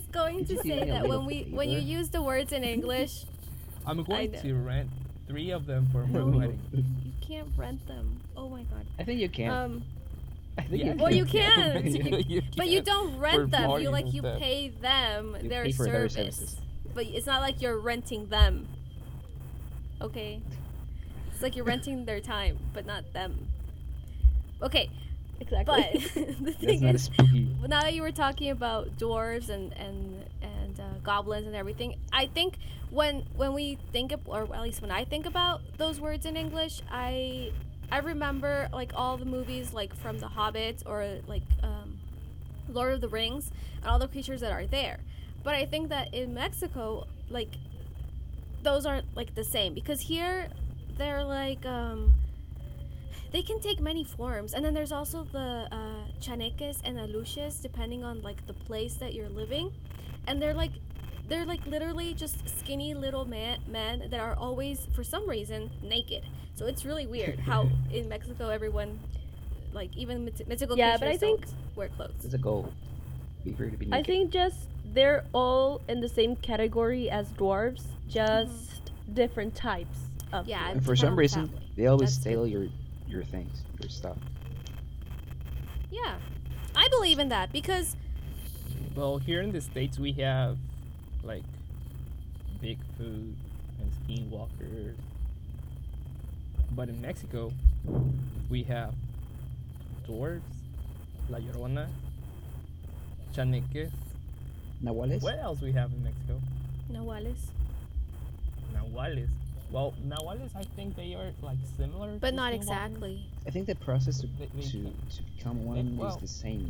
Speaker 1: going to
Speaker 5: Could you do
Speaker 1: say
Speaker 5: me a
Speaker 1: that
Speaker 5: little
Speaker 1: when you
Speaker 5: favor?
Speaker 1: use the words in English,
Speaker 3: I'm going
Speaker 1: know.
Speaker 3: to rent 3 of them for my
Speaker 1: No.
Speaker 3: wedding.
Speaker 1: you can't rent them. Oh my god.
Speaker 5: I think you can. I think
Speaker 3: Yeah,
Speaker 5: you
Speaker 1: Well,
Speaker 5: can.
Speaker 1: you can. But you
Speaker 3: can.
Speaker 1: don't rent them. You
Speaker 3: parties
Speaker 1: like
Speaker 3: and
Speaker 1: you
Speaker 3: stuff.
Speaker 1: pay them
Speaker 5: You
Speaker 1: their
Speaker 5: pay for their
Speaker 1: service.
Speaker 5: services.
Speaker 1: But it's not like you're renting them. Okay. It's like you're renting their time, but not them. Okay,
Speaker 4: Exactly.
Speaker 1: but the
Speaker 5: That's
Speaker 1: thing
Speaker 5: not a
Speaker 1: is,
Speaker 5: spooky.
Speaker 1: now that you were talking about dwarves and goblins and everything, I think when we think of, or at least when I think about those words in English, I remember like all the movies like from The Hobbit or like Lord of the Rings and all the creatures that are there. But I think that in Mexico, like those aren't like the same because here they're like they can take many forms, and then there's also the chaneques and aluches depending on like the place that you're living, and they're like literally just skinny little men that are always for some reason naked. So it's really weird how in Mexico everyone like even mythical
Speaker 4: Yeah,
Speaker 1: creatures
Speaker 4: but I think-
Speaker 1: don't wear clothes.
Speaker 5: It's a goal. Be free to be
Speaker 4: I
Speaker 5: naked.
Speaker 4: think just they're all in the same category as dwarves, just different types of.
Speaker 1: Yeah,
Speaker 4: dwarves.
Speaker 5: And for
Speaker 1: depend
Speaker 5: some
Speaker 1: on the
Speaker 5: reason,
Speaker 1: family.
Speaker 5: they always
Speaker 1: That's
Speaker 5: steal your things, your stuff.
Speaker 1: Yeah, I believe in that because
Speaker 3: Well, here in the States, we have like Bigfoot and skinwalkers. But in Mexico, we have dwarves, La Llorona, chaneques.
Speaker 5: Nahuales?
Speaker 3: What else we have in Mexico?
Speaker 1: Nahuales,
Speaker 3: Nahuales. Well, Nahuales, I think they are like similar.
Speaker 1: but
Speaker 3: to
Speaker 1: not
Speaker 3: skinwalkers.
Speaker 1: exactly.
Speaker 5: I think the process to,
Speaker 3: They
Speaker 5: to,
Speaker 3: can-
Speaker 5: to become one
Speaker 3: well-
Speaker 5: is the same.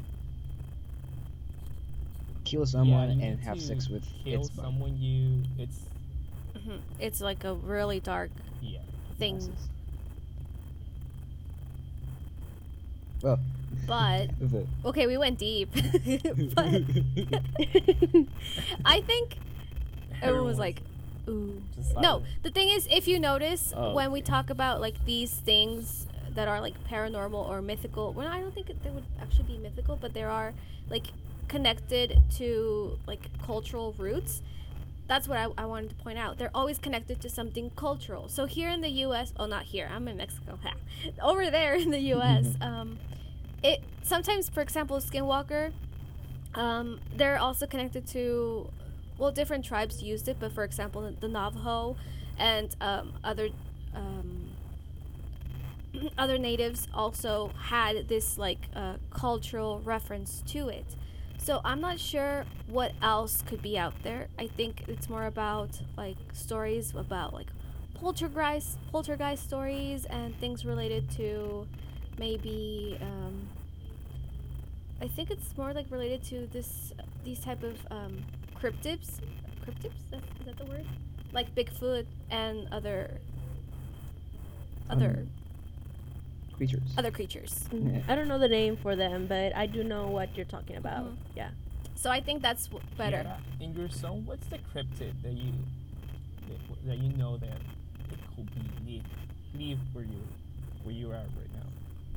Speaker 5: Kill someone
Speaker 3: Yeah, you
Speaker 5: and
Speaker 3: need
Speaker 5: have
Speaker 3: to
Speaker 5: sex with
Speaker 3: kill
Speaker 5: its body.
Speaker 3: someone. It's
Speaker 1: It's like a really dark
Speaker 3: yeah.
Speaker 1: thing.
Speaker 5: Nonsense. Well,
Speaker 1: But
Speaker 5: the
Speaker 1: okay, we went deep. But I think everyone was like, ooh.
Speaker 3: Just
Speaker 1: No,
Speaker 3: silent.
Speaker 1: the thing is, if you notice,
Speaker 3: Oh,
Speaker 1: when we
Speaker 3: okay.
Speaker 1: talk about like these things that are like paranormal or mythical, well, I don't think they would actually be mythical, but they are like connected to like cultural roots. That's what I wanted to point out. They're always connected to something cultural. So here in the U.S., oh, not here. I'm in Mexico. Ha. Over there in the U.S., it sometimes, for example, Skinwalker, they're also connected to, well, different tribes used it, but for example, the Navajo and other other natives also had this like cultural reference to it. So I'm not sure what else could be out there. I think it's more about like stories about like poltergeist stories and things related to maybe I think it's more like related to these type of cryptids. Cryptids? Is that the word? Like Bigfoot and other
Speaker 5: creatures.
Speaker 1: other creatures.
Speaker 5: Yeah.
Speaker 4: I don't know the name for them, but I do know what you're talking about.
Speaker 1: Mhm.
Speaker 4: Yeah.
Speaker 1: So I think that's better.
Speaker 3: Yeah, in your zone, what's the cryptid that you know that it could be live where you are right now?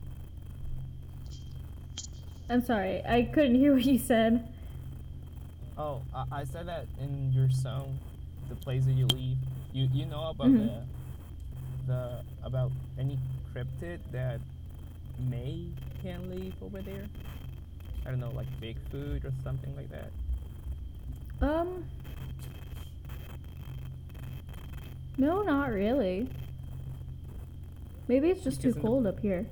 Speaker 2: I'm sorry, I couldn't hear what you said.
Speaker 3: Oh, I said that in your zone, the place that you live, you know about
Speaker 2: Mhm.
Speaker 3: the about any cryptid that can live over there. I don't know, like Bigfoot or something like that.
Speaker 2: No, not really. Maybe it's just too
Speaker 3: Because in the-
Speaker 2: cold up here.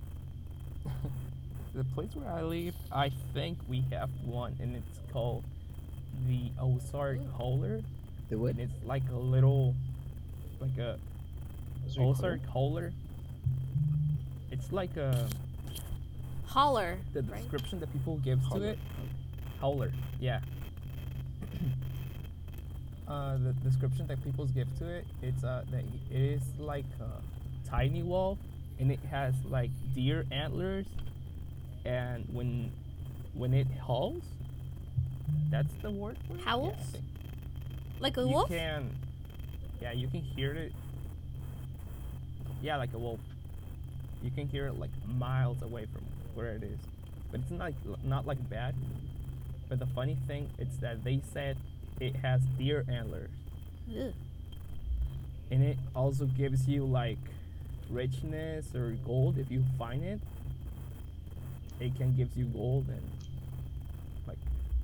Speaker 3: The place where I live, I think we have one, and it's called the Ozark Howler,
Speaker 5: The what?
Speaker 3: and it's like a little, like a
Speaker 5: Ozark
Speaker 3: Ozark Howler. It's like a
Speaker 1: Holler,
Speaker 3: the
Speaker 1: right?
Speaker 3: description that people give to
Speaker 5: Howler.
Speaker 3: it. Howler, yeah. The description that people give to it, it's that it is like a tiny wolf, and it has like deer antlers, and when it howls, that's the word for it. Yeah, I
Speaker 1: Howls?
Speaker 3: think.
Speaker 1: Like a
Speaker 3: You
Speaker 1: wolf?
Speaker 3: you can hear it. Yeah, like a wolf. You can hear it like miles away from where it is, but it's not like bad. But the funny thing is that they said it has deer antlers,
Speaker 1: Ugh.
Speaker 3: and it also gives you like richness or gold if you find it. It can give you gold and like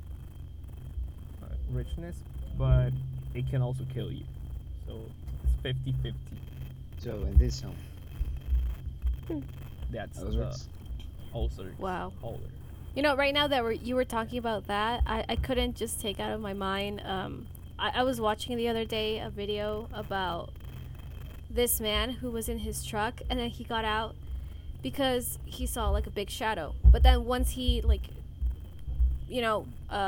Speaker 3: richness, but it can also kill you. So it's 50-50.
Speaker 5: So in this zone,
Speaker 3: That's
Speaker 5: those
Speaker 3: the
Speaker 5: words.
Speaker 3: ulcer.
Speaker 1: Wow.
Speaker 3: Holder.
Speaker 1: You know, right now that you were talking about that, I couldn't just take out of my mind. I was watching the other day a video about this man who was in his truck, and then he got out because he saw like a big shadow. But then once he like, you know,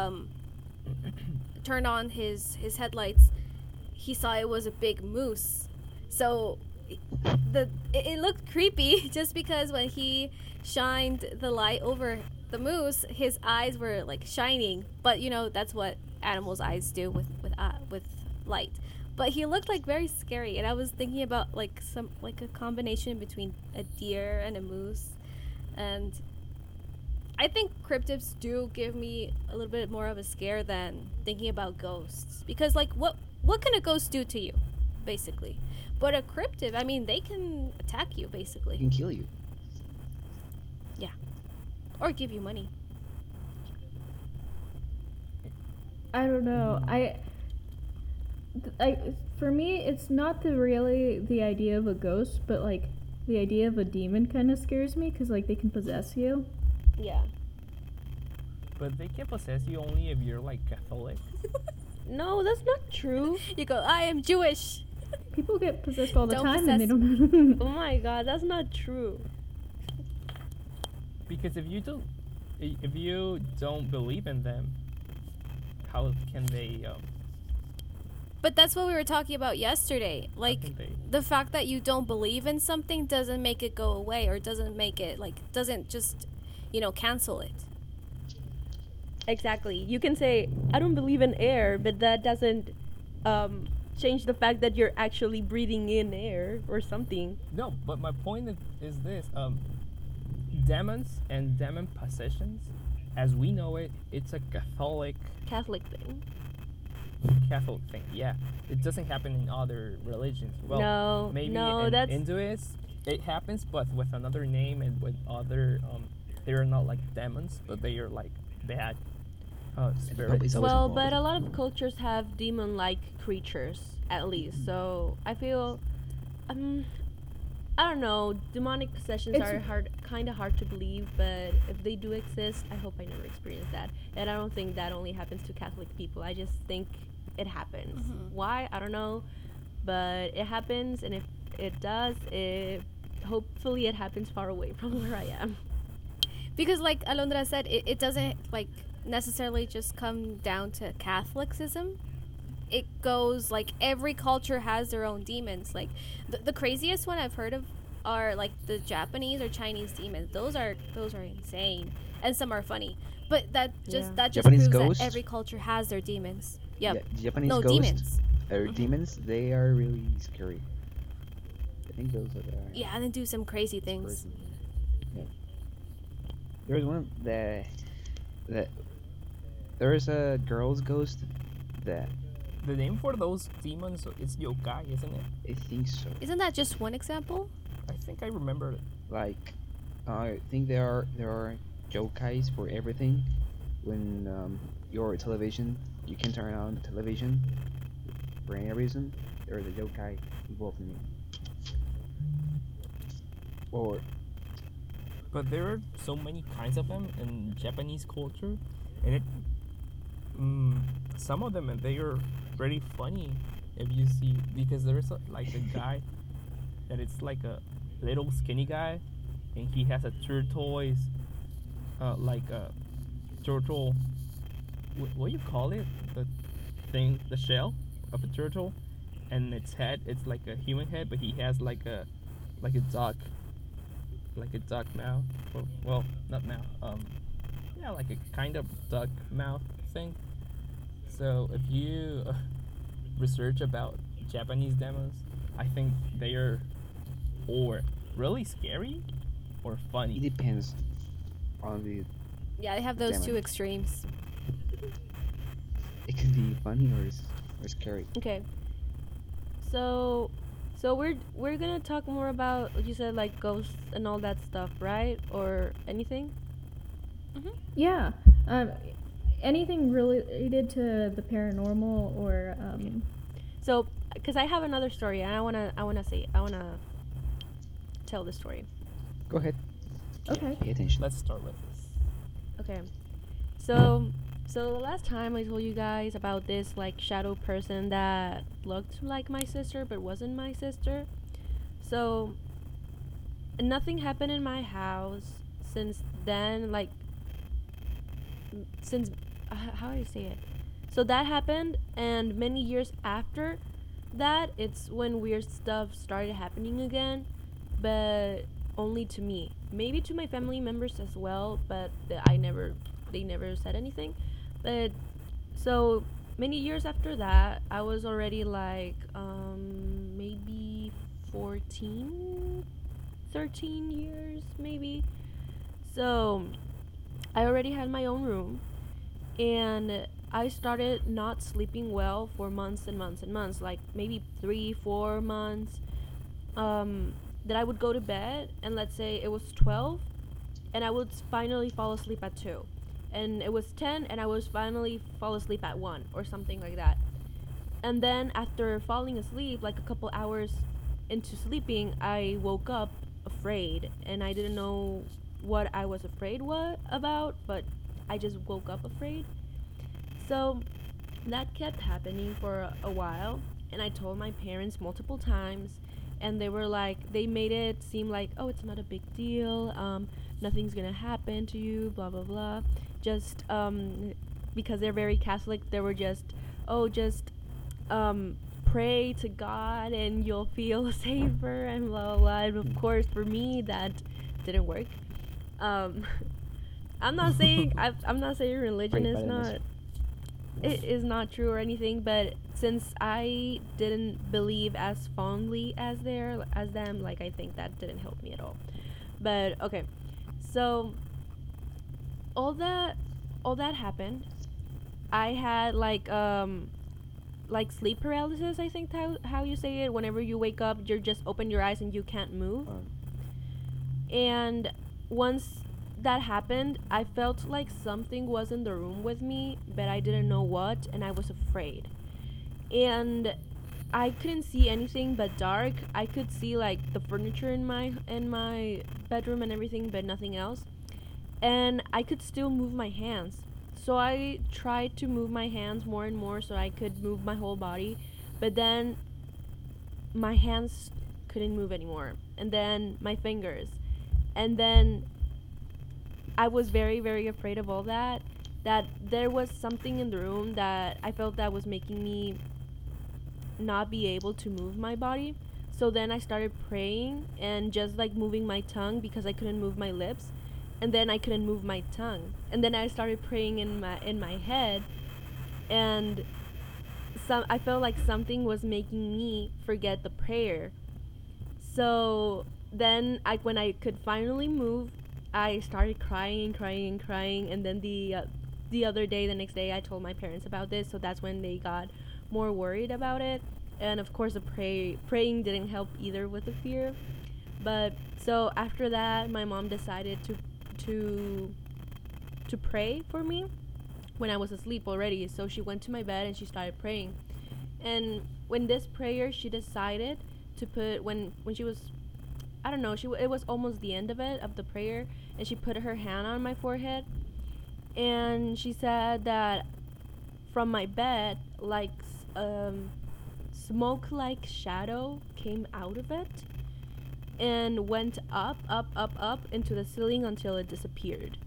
Speaker 1: turned on his headlights, he saw it was a big moose. So it looked creepy just because when he shined the light over the moose, his eyes were like shining. But you know that's what animals' eyes do with light. But he looked like very scary, and I was thinking about like a combination between a deer and a moose, and I think cryptids do give me a little bit more of a scare than thinking about ghosts, because like what can a ghost do to you, basically? But a cryptid, I mean, they can attack you
Speaker 5: It
Speaker 1: basically,
Speaker 5: can kill you.
Speaker 1: or give you money.
Speaker 2: I don't know. For me, it's not really the idea of a ghost, but like the idea of a demon kind of scares me because like they can possess you.
Speaker 4: Yeah.
Speaker 3: But they can possess you only if you're like Catholic.
Speaker 4: No, that's not true.
Speaker 1: You go, I am Jewish.
Speaker 2: People get possessed all the
Speaker 1: Don't
Speaker 2: time and they
Speaker 1: possess
Speaker 2: don't.
Speaker 4: Oh my god, that's not true.
Speaker 3: Because if you don't believe in them, how can they?
Speaker 1: But that's what we were talking about yesterday.
Speaker 3: how
Speaker 1: Like
Speaker 3: can they?
Speaker 1: the fact that you don't believe in something doesn't make it go away, or doesn't make it doesn't just, cancel it.
Speaker 4: Exactly. You can say, I don't believe in air, but that doesn't change the fact that you're actually breathing in air or something.
Speaker 3: No, but my point is this: demons and demon possessions, as we know it, it's a Catholic
Speaker 4: Catholic thing.
Speaker 3: thing. Yeah, it doesn't happen in other religions. Well,
Speaker 4: No,
Speaker 3: maybe
Speaker 4: no,
Speaker 3: in
Speaker 4: that's
Speaker 3: Hinduists it happens, but with another name and with other they are not like demons, but they are like bad spirits.
Speaker 5: It's always
Speaker 4: well,
Speaker 5: involved.
Speaker 4: but a lot of cultures have demon-like creatures, at least. So I feel, I don't know. Demonic possessions
Speaker 2: It's-
Speaker 4: are kind of hard to believe, but if they do exist, I hope I never experience that. And I don't think that only happens to Catholic people. I just think it happens. Why? I don't know, but it happens, and if it does, hopefully it happens far away from where I am.
Speaker 1: Because like Alondra said, it doesn't like necessarily just come down to Catholicism. It goes like every culture has their own demons. Like the craziest one I've heard of are like the Japanese or Chinese demons. Those are insane, and some are funny. But that just
Speaker 4: Yeah.
Speaker 5: Japanese
Speaker 1: proves
Speaker 5: ghosts?
Speaker 1: that every culture has their demons. Yep.
Speaker 5: Yeah, Japanese
Speaker 1: No,
Speaker 5: ghosts
Speaker 1: demons.
Speaker 5: or
Speaker 1: Mhm.
Speaker 5: demons, they are really scary. I think those are the.
Speaker 1: Yeah, and then do some crazy things.
Speaker 5: Yeah. There's one that there's a girl's ghost that
Speaker 3: The name for those demons is yokai, isn't it?
Speaker 5: I think so.
Speaker 1: Isn't that just one example?
Speaker 3: I think I remember it.
Speaker 5: Like, I think there are yokais for everything. When your television, you can turn on the television for any reason. There is a yokai involved in it. Or
Speaker 3: But there are so many kinds of them in Japanese culture, and some of them they are pretty funny if you see, because there's like a guy that it's like a little skinny guy, and he has a turquoise, like a turtle. What do you call it? The thing, the shell of a turtle, and its head. It's like a human head, but he has like a duck. Like a duck mouth, or, well, not mouth. Yeah, like a kind of duck mouth thing. So if you research about Japanese demons, I think they are or really scary or
Speaker 5: it
Speaker 3: funny.
Speaker 5: depends on the
Speaker 1: Yeah, they have those
Speaker 5: Demon.
Speaker 1: two extremes.
Speaker 5: It could be funny or scary.
Speaker 4: Okay. So we're gonna talk more about, like you said, like ghosts and all that stuff, right? Or anything?
Speaker 2: Yeah. Um, anything related to the paranormal or
Speaker 4: So, because I have another story, and I wanna tell the story.
Speaker 5: Go ahead.
Speaker 2: Okay.
Speaker 5: Pay attention.
Speaker 3: Let's start with this.
Speaker 4: Okay. So the last time I told you guys about this like shadow person that looked like my sister but wasn't my sister. So nothing happened in my house since then, like since how do I say it? So that happened, and many years after that, it's when weird stuff started happening again, but only to me. Maybe to my family members as well, but they never said anything. But so many years after that, I was already like maybe 14, 13 years maybe. So I already had my own room, and I started not sleeping well for months and months and months, like maybe 3, 4 months. That I would go to bed, and let's say it was 12, and I would finally fall asleep at 2, and it was 10, and I was finally fall asleep at 1 or something like that. And then after falling asleep, like a couple hours into sleeping, I woke up afraid, and I didn't know what I was afraid about, but I just woke up afraid. So that kept happening for a while, and I told my parents multiple times, and they were like, they made it seem like, oh, it's not a big deal, nothing's gonna happen to you, blah blah blah. Just because they're very Catholic, they were just, oh, just pray to God and you'll feel safer and blah blah blah. And of course, for me, that didn't work. Um, I'm not saying religion
Speaker 5: Pray
Speaker 4: is
Speaker 5: by
Speaker 4: not,
Speaker 5: this.
Speaker 4: it is not true or anything, but since I didn't believe as fondly as them, like I think that didn't help me at all. But okay, so all that happened. I had like sleep paralysis. I think how you say it. Whenever you wake up, you just open your eyes and you can't move.
Speaker 5: Um,
Speaker 4: And once that happened, I felt like something was in the room with me, but I didn't know what, and I was afraid. And I couldn't see anything but dark. I could see like the furniture in my bedroom and everything, but nothing else. And I could still move my hands. So I tried to move my hands more and more so I could move my whole body, but then my hands couldn't move anymore. And then my fingers. And then I was very, very afraid of all that. That there was something in the room that I felt that was making me not be able to move my body. So then I started praying and just like moving my tongue because I couldn't move my lips. And then I couldn't move my tongue. And then I started praying in my head, and I felt like something was making me forget the prayer. So then when I could finally move, I started crying and crying and crying, and then the next day I told my parents about this, so that's when they got more worried about it. And of course the praying didn't help either with the fear. But so after that, my mom decided to pray for me when I was asleep already. So she went to my bed and she started praying. And when this prayer, she decided to put when she was, I don't know, it was almost the end of the prayer, and she put her hand on my forehead, and she said that from my bed, like smoke like shadow came out of it and went up, up, up, up into the ceiling until it disappeared.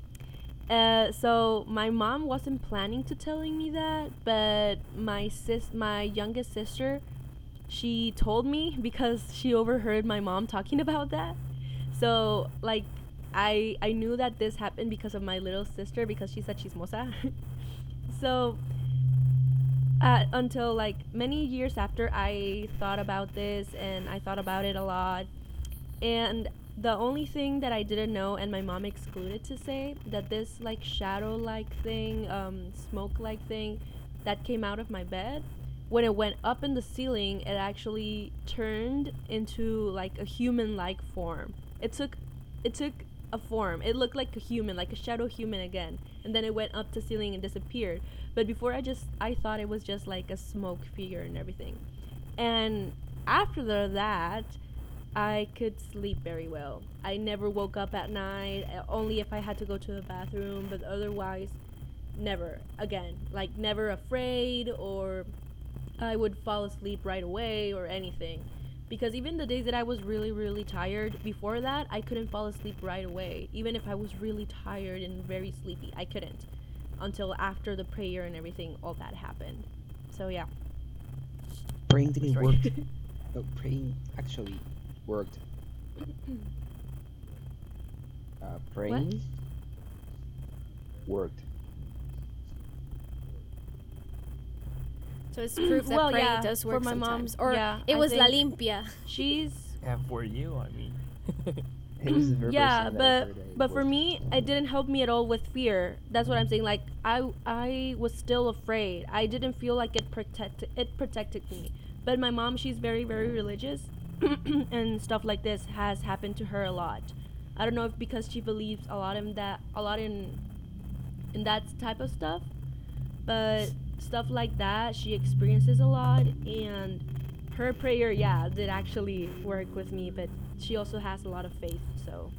Speaker 4: So my mom wasn't planning to telling me that, but my youngest sister, she told me because she overheard my mom talking about that. So like I knew that this happened because of my little sister, because she's a chismosa. So until like many years after, I thought about this and I thought about it a lot. And the only thing that I didn't know, and my mom excluded to say, that this like shadow like thing, smoke like thing that came out of my bed, when it went up in the ceiling, it actually turned into like a human like form. It took a form. It looked like a human, like a shadow human again. And then it went up to ceiling and disappeared. But before I thought it was just like a smoke figure and everything. And after that, I could sleep very well. I never woke up at night, only if I had to go to the bathroom, but otherwise, never again. Like, never afraid, or I would fall asleep right away or anything. Because even the days that I was really, really tired before that, I couldn't fall asleep right away. Even if I was really tired and very sleepy, I couldn't. Until after the prayer and everything, all that happened. So, yeah.
Speaker 5: Praying didn't
Speaker 3: Sorry.
Speaker 5: work. No, praying actually worked. Praying worked.
Speaker 1: So it's proof that
Speaker 4: Well,
Speaker 1: praying
Speaker 4: yeah,
Speaker 1: does
Speaker 4: for
Speaker 1: work
Speaker 4: my mom,
Speaker 1: sometimes. Or
Speaker 4: yeah,
Speaker 1: it
Speaker 4: I
Speaker 1: was La
Speaker 4: think-
Speaker 1: Limpia.
Speaker 4: She's
Speaker 3: And for you, I mean.
Speaker 5: It was the very
Speaker 4: yeah,
Speaker 5: first time that I
Speaker 4: but
Speaker 5: heard that it
Speaker 4: but for
Speaker 5: worked.
Speaker 4: me, it didn't help me at all with fear. That's what I'm saying. Like, I was still afraid. I didn't feel like it protected me. But my mom, she's very, very religious, and stuff like this has happened to her a lot. I don't know if because she believes a lot in that type of stuff, but stuff like that she experiences a lot. And her prayer, yeah, did actually work with me, but she also has a lot of faith, so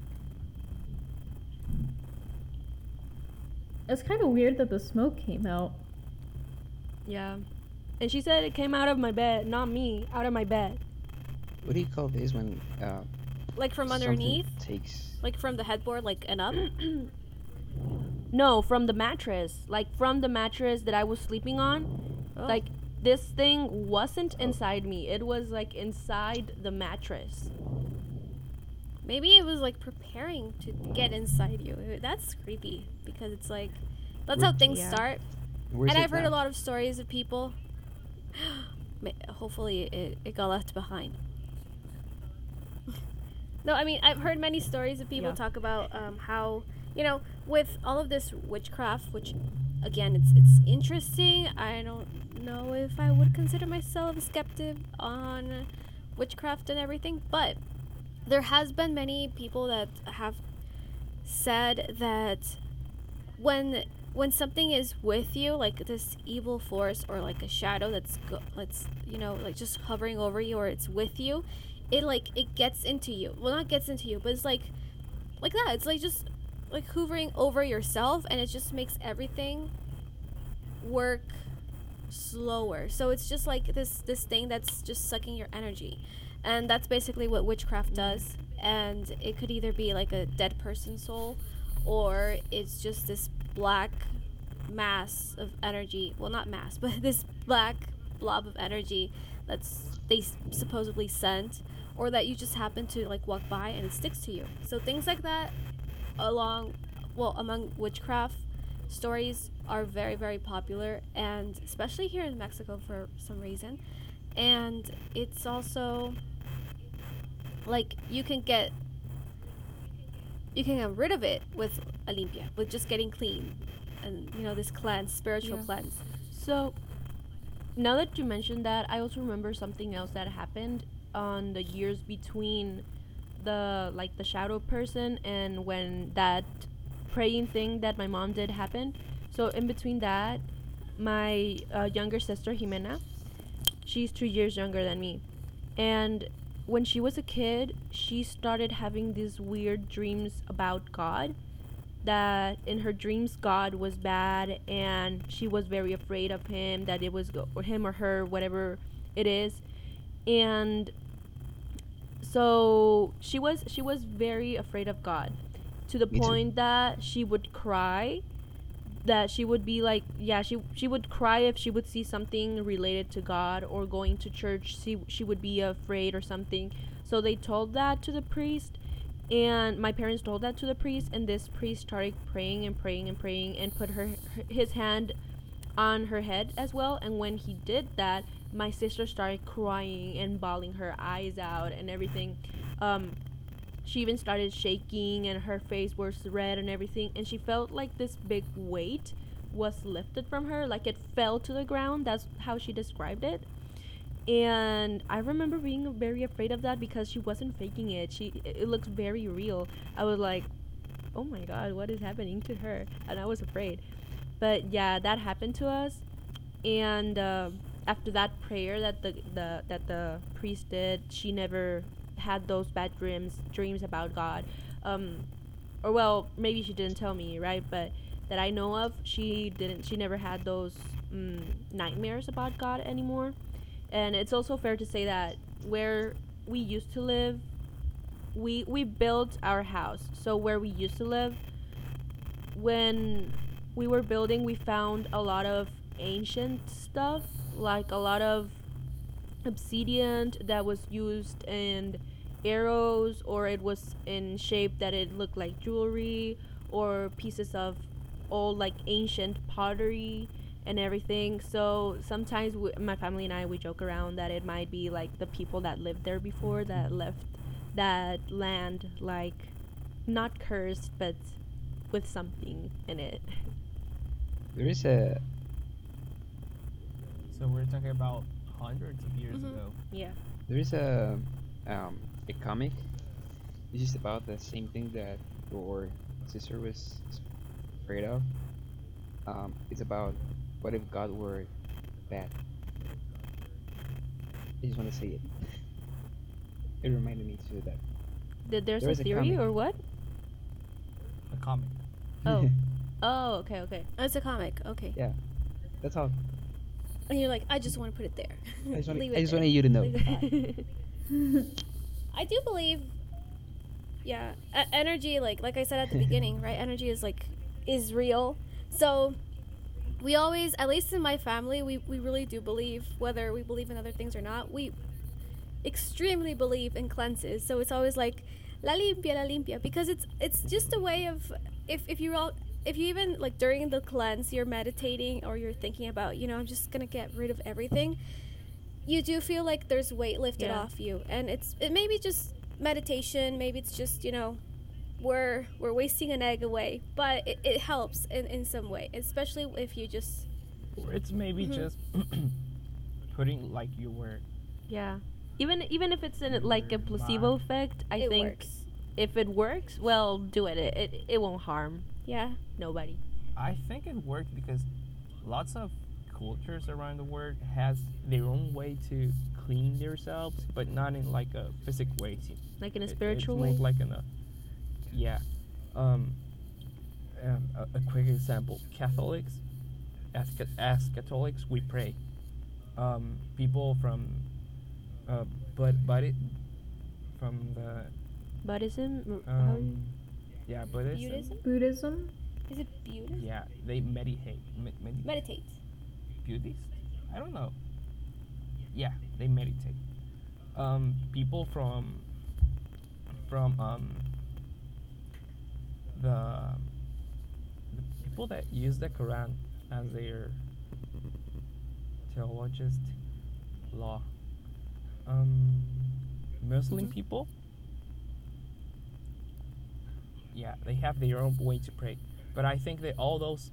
Speaker 2: It's kind of weird that the smoke came out.
Speaker 4: yeah. And she said it came out of my bed, not me, out of my bed.
Speaker 5: What do you call this when
Speaker 1: Like from
Speaker 5: something
Speaker 1: underneath?
Speaker 5: takes?
Speaker 1: Like from the headboard, like and up?
Speaker 4: No, from the mattress. Like from the mattress that I was sleeping on.
Speaker 1: Oh.
Speaker 4: Like this thing wasn't inside me. It was like inside the mattress.
Speaker 1: Maybe it was like preparing to get inside you. That's creepy because it's like that's how things
Speaker 4: Yeah.
Speaker 1: start.
Speaker 5: Where's
Speaker 1: And
Speaker 5: it
Speaker 1: I've heard
Speaker 5: now?
Speaker 1: a lot of stories of people. Hopefully, it got left behind. No, I mean I've heard many stories of people
Speaker 4: Yeah.
Speaker 1: talk about how with all of this witchcraft, which again it's interesting. I don't know if I would consider myself a skeptic on witchcraft and everything, but there has been many people that have said that when something is with you, like this evil force or like a shadow that's like just hovering over you, or it's with you, it gets into you. Well, not gets into you, but it's like that. It's like just like hovering over yourself, and it just makes everything work slower. So it's just like this thing that's just sucking your energy, and that's basically what witchcraft does. And it could either be like a dead person's soul, or it's just this black mass of energy. Well, not mass, but this black blob of energy that's they supposedly sent, or that you just happen to like walk by and it sticks to you. So things like that among witchcraft stories are very, very popular, and especially here in Mexico for some reason. And it's also like you can get rid of it with a limpia, with just getting clean, and this cleanse, spiritual
Speaker 4: Yeah.
Speaker 1: cleanse.
Speaker 4: So now that you mentioned that, I also remember something else that happened on the years between the shadow person and when that praying thing that my mom did happened. So in between that, my younger sister Jimena, she's 2 years younger than me, and when she was a kid, she started having these weird dreams about God, that in her dreams God was bad and she was very afraid of him, that it was or him or her, whatever it is. And so she was very afraid of God, to the
Speaker 5: Me too.
Speaker 4: point that she would cry, that she would be like, yeah, she would cry if she would see something related to God, or going to church, she would be afraid or something. So they told that to the priest, and my parents told that to the priest, and this priest started praying and praying and praying, and put his hand on her head as well. And when he did that, my sister started crying and bawling her eyes out and everything. she even started shaking and her face was red and everything, and she felt like this big weight was lifted from her, like it fell to the ground. That's how she described it. And I remember being very afraid of that because she wasn't faking it. It looks very real. I was like, oh my god, what is happening to her? And I was afraid. But yeah, that happened to us. And after that prayer that the priest did, she never had those bad dreams about God. Or well, maybe she didn't tell me, right? But that I know of, she never had those nightmares about God anymore. And it's also fair to say that where we used to live, we built our house. So where we used to live, when we were building, we found a lot of ancient stuff, like a lot of obsidian that was used in arrows, or it was in shape that it looked like jewelry, or pieces of old like ancient pottery and everything. So sometimes my family and I, we joke around that it might be like the people that lived there before that left that land like not cursed but with something in it.
Speaker 5: There is a
Speaker 3: So we're talking about hundreds of years ago.
Speaker 4: Yeah.
Speaker 5: there is a comic. It's just about the same thing that your sister was afraid of. It's about what if God were bad. I just want to say it. It reminded me to that.
Speaker 4: There's
Speaker 5: There
Speaker 4: a
Speaker 5: is a
Speaker 4: theory
Speaker 5: comic.
Speaker 4: or what?
Speaker 3: A comic.
Speaker 4: Oh. Oh, okay, okay.
Speaker 1: Oh, it's a comic. Okay.
Speaker 5: Yeah, that's all.
Speaker 1: And you're like, I just want to put it there.
Speaker 5: I just,
Speaker 1: Leave
Speaker 5: I
Speaker 1: it
Speaker 5: just
Speaker 1: there.
Speaker 5: wanted you to know.
Speaker 1: Leave it there. I do believe, yeah, energy. Like I said at the beginning, right? Energy is real. So we always, at least in my family, we really do believe, whether we believe in other things or not, we extremely believe in cleanses. So it's always like la limpia, because it's just a way of, if you even like during the cleanse you're meditating or you're thinking about, I'm just gonna get rid of everything, you do feel like there's weight lifted
Speaker 4: Yeah.
Speaker 1: off you. And it may be just meditation, maybe it's just we're wasting an egg away, but it helps in some way, especially if you just
Speaker 3: Or it's maybe
Speaker 1: Mhm.
Speaker 3: just putting like you were.
Speaker 4: Yeah. Even if it's in like a placebo effect, I
Speaker 1: it
Speaker 4: think
Speaker 1: works.
Speaker 4: if it works, well, do it. It won't harm
Speaker 1: Yeah.
Speaker 4: nobody.
Speaker 3: I think it worked because lots of cultures around the world has their own way to clean themselves, but not in like a physical way.
Speaker 4: Like in a
Speaker 3: It's
Speaker 4: spiritual
Speaker 3: more
Speaker 4: way.
Speaker 3: like in a yeah. A quick example: Catholics, as Catholics, we pray. People from, but it from the
Speaker 4: Buddhism. How do you-
Speaker 3: yeah, Buddhism.
Speaker 1: Buddhism?
Speaker 2: Buddhism?
Speaker 1: Is it Buddhism?
Speaker 3: Yeah, they meditate.
Speaker 1: Meditate.
Speaker 3: Buddhist? I don't know. Yeah, they meditate. People from the people that use the Quran as their theologist law. Muslim
Speaker 1: Mhm.
Speaker 3: people. Yeah, they have their own way to pray, but I think that all those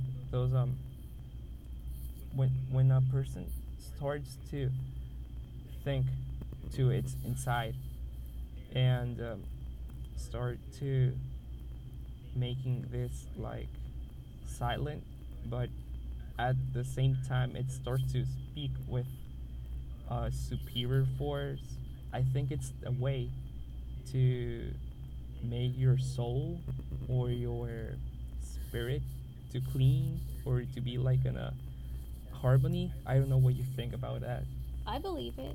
Speaker 3: when a person starts to think to its inside and start to making this like silent, but at the same time it starts to speak with a superior force, I think it's a way to make your soul or your spirit to clean or to be like in a harmony. I don't know what you think about that.
Speaker 1: I believe it.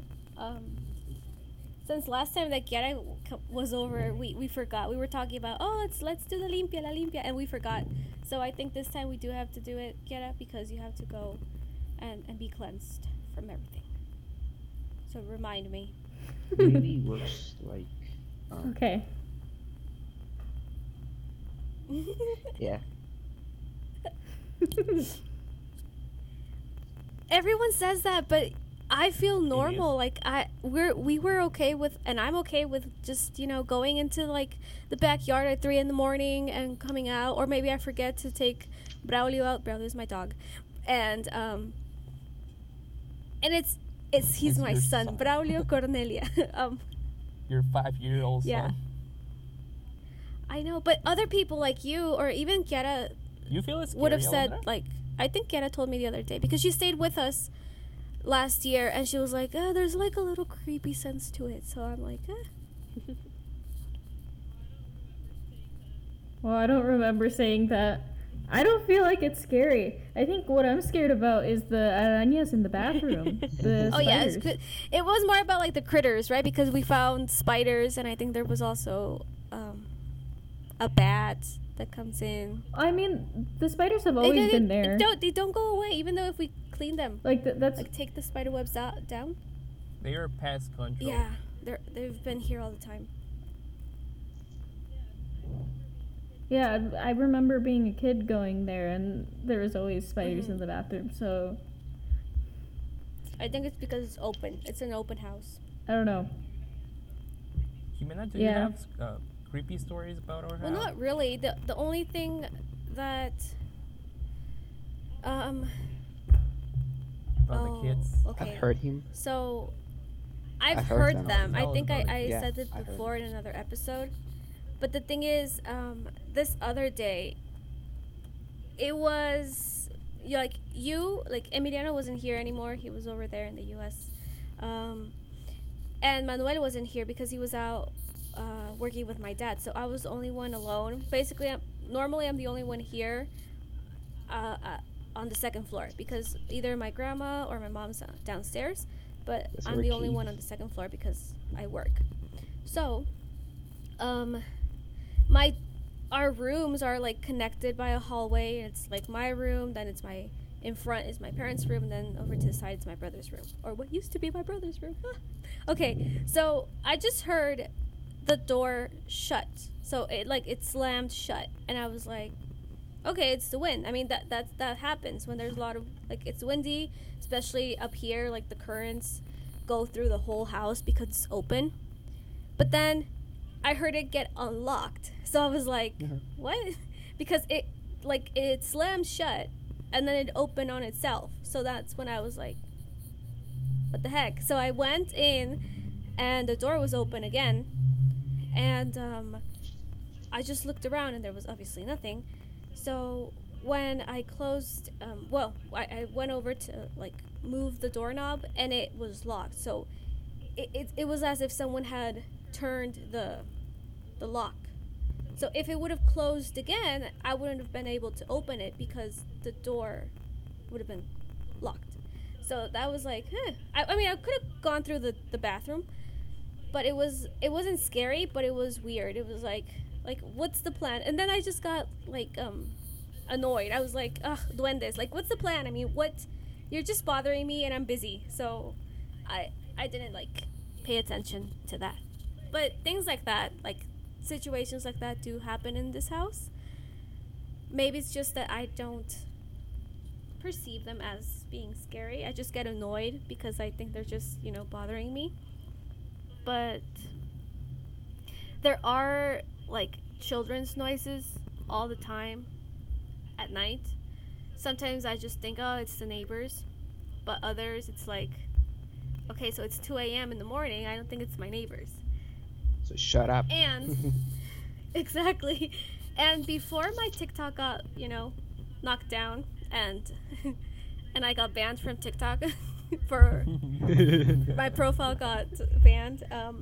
Speaker 1: Since last time that Kiara was over, we forgot. We were talking about, let's do the la limpia, and we forgot. So I think this time we do have to do it, Kiara, because you have to go and be cleansed from everything. So remind me.
Speaker 5: Really works like
Speaker 2: Okay.
Speaker 5: yeah.
Speaker 1: Everyone says that, but I feel
Speaker 3: is.
Speaker 1: normal. Like we were okay with, and I'm okay with just going into like the backyard at 3 in the morning and coming out, or maybe I forget to take Braulio out. Braulio is my dog, and he's
Speaker 3: It's
Speaker 1: my
Speaker 3: your
Speaker 1: son,
Speaker 3: son.
Speaker 1: Braulio Cornelia.
Speaker 3: Your 5-year-old
Speaker 1: Yeah.
Speaker 3: son.
Speaker 1: I know, but other people like you or even Kiara
Speaker 3: You feel it's
Speaker 1: would have
Speaker 3: scary,
Speaker 1: said
Speaker 3: Alondra?
Speaker 1: like, I think Kiara told me the other day because she stayed with us last year and she was like, there's like a little creepy sense to it. So I'm like,
Speaker 2: Well, I don't remember saying that. I don't feel like it's scary. I think what I'm scared about is the arañas in the bathroom. The
Speaker 1: oh yeah,
Speaker 2: spiders.
Speaker 1: it was more about like the critters, right? Because we found spiders and I think there was also a bat that comes in.
Speaker 2: I mean, the spiders have always been there.
Speaker 1: They don't go away even though if we clean them.
Speaker 2: Like that's
Speaker 1: Like take the spider webs down.
Speaker 3: They are pest control.
Speaker 1: Yeah, they've been here all the time.
Speaker 2: yeah. I remember being a kid going there, and there was always spiders
Speaker 1: Mhm.
Speaker 2: in the bathroom. So
Speaker 1: I think it's because it's open. It's an open house.
Speaker 2: I don't know.
Speaker 3: Jimena, do
Speaker 2: Yeah.
Speaker 3: you have creepy stories about our
Speaker 1: Well,
Speaker 3: house?
Speaker 1: not really. The only thing that
Speaker 3: About the kids?
Speaker 1: Okay.
Speaker 5: I've heard him.
Speaker 1: So I've
Speaker 5: I've
Speaker 1: heard
Speaker 5: heard
Speaker 1: them.
Speaker 3: them.
Speaker 1: I
Speaker 3: Tell us
Speaker 1: think
Speaker 3: about
Speaker 1: I
Speaker 3: it.
Speaker 5: Yeah,
Speaker 1: said it
Speaker 5: I heard
Speaker 1: before in another episode. But the thing is, this other day, it was like Emiliano wasn't here anymore. He was over there in the U.S. And Manuel wasn't here because he was out working with my dad. So I was the only one alone. Basically, normally I'm the only one here on the second floor because either my grandma or my mom's downstairs. But
Speaker 5: That's
Speaker 1: I'm
Speaker 5: very
Speaker 1: the only
Speaker 5: key.
Speaker 1: one on the second floor because I work. So, our rooms are like connected by a hallway, and it's like my room, then it's in front is my parents' room, and then over to the side is my brother's room, or what used to be my brother's room. Okay, so I just heard the door shut, so it slammed shut, and I was like, okay, it's the wind. I mean that happens when there's a lot of it's windy, especially up here. Like the currents go through the whole house because it's open. But then I heard it get unlocked, so I was like, what? Because it slammed shut, and then it opened on itself. So that's when I was like, what the heck? So I went in, and the door was open again, and I just looked around, and there was obviously nothing. So when I closed, I went over to move the doorknob, and it was locked. So it was as if someone had turned the lock. So if it would have closed again, I wouldn't have been able to open it because the door would have been locked. So that was like, I mean, I could have gone through the bathroom, but it wasn't scary, but it was weird. It was like what's the plan? And then I just got annoyed. I was like, ugh, duendes. Like, what's the plan? I mean, what? You're just bothering me, and I'm busy. So I didn't pay attention to that. But things like that, situations like that do happen in this house. Maybe it's just that I don't perceive them as being scary. I just get annoyed because I think they're just, bothering me. But there are children's noises all the time at night. Sometimes I just think, oh, it's the neighbors. But others, it's like, okay, so it's 2 a.m. in the morning. I don't think it's my neighbors.
Speaker 5: So shut up.
Speaker 1: And exactly. And before my TikTok got, knocked down and and I got banned from TikTok for my profile got banned,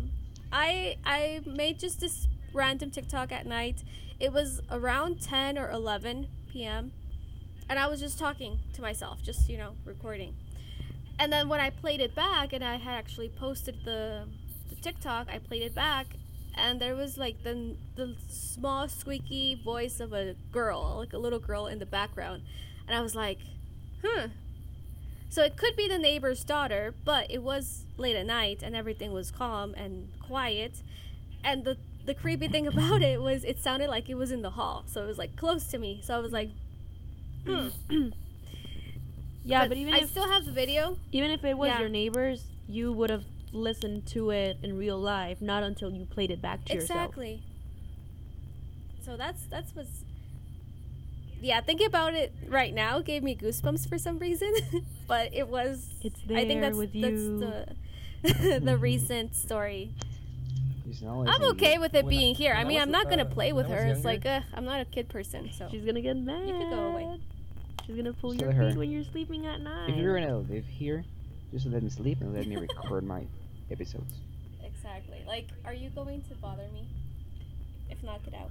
Speaker 1: I made just this random TikTok at night. It was around 10 or 11 p.m. and I was just talking to myself, just, recording. And then when I played it back, and I had actually posted the TikTok, I played it back, and there was the small squeaky voice of a girl, a little girl in the background, and I was like, so it could be the neighbor's daughter, but it was late at night and everything was calm and quiet, and the creepy thing about it was it sounded like it was in the hall, so it was close to me. So I was like,
Speaker 4: Yeah, but even
Speaker 1: I
Speaker 4: if
Speaker 1: still have the video.
Speaker 4: it was
Speaker 1: Yeah.
Speaker 4: your neighbors, you would have listened to it in real life, not until you played it back to yourself.
Speaker 1: Exactly. So that's what's. Yeah, thinking about it right now gave me goosebumps for some reason, but it was.
Speaker 4: It's
Speaker 1: I think
Speaker 4: there
Speaker 1: that's
Speaker 4: with
Speaker 1: that's
Speaker 4: you.
Speaker 1: the recent story.
Speaker 5: He's always
Speaker 1: I'm
Speaker 5: in
Speaker 1: okay
Speaker 5: the-
Speaker 1: with it
Speaker 3: When I-
Speaker 1: being here. I
Speaker 3: when I
Speaker 1: mean,
Speaker 3: was,
Speaker 1: I'm not gonna play
Speaker 3: when
Speaker 1: with
Speaker 3: I was
Speaker 1: her. It's
Speaker 3: younger-
Speaker 1: like, I'm not a kid person, so.
Speaker 4: She's gonna get mad.
Speaker 1: You could go away.
Speaker 4: She's gonna pull
Speaker 5: Just
Speaker 4: your
Speaker 5: tell her,
Speaker 4: feet when you're sleeping at night.
Speaker 5: If you're gonna live here, just let me sleep and let me record my episodes.
Speaker 1: Exactly. Like, are you going to bother me? If not, get out.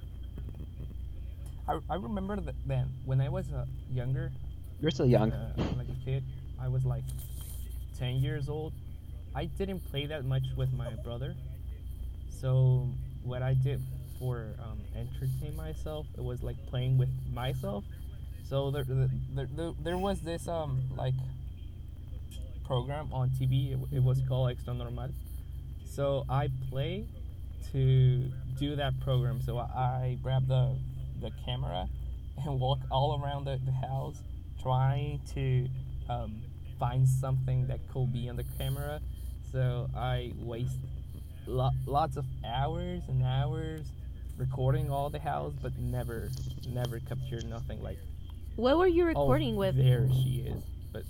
Speaker 3: I remember that then when I was younger,
Speaker 5: You're still young.
Speaker 3: like a kid, I was like 10 years old. I didn't play that much with my brother. So what I did for entertain myself, it was like playing with myself. So there was this like program on TV. It was called Extra Normal. So I play to do that program. So I grab the camera and walk all around the house trying to find something that could be on the camera. So I waste lots of hours and hours recording all the house, but never capture nothing like.
Speaker 4: What were you
Speaker 3: Oh,
Speaker 4: recording with?
Speaker 3: there she is, but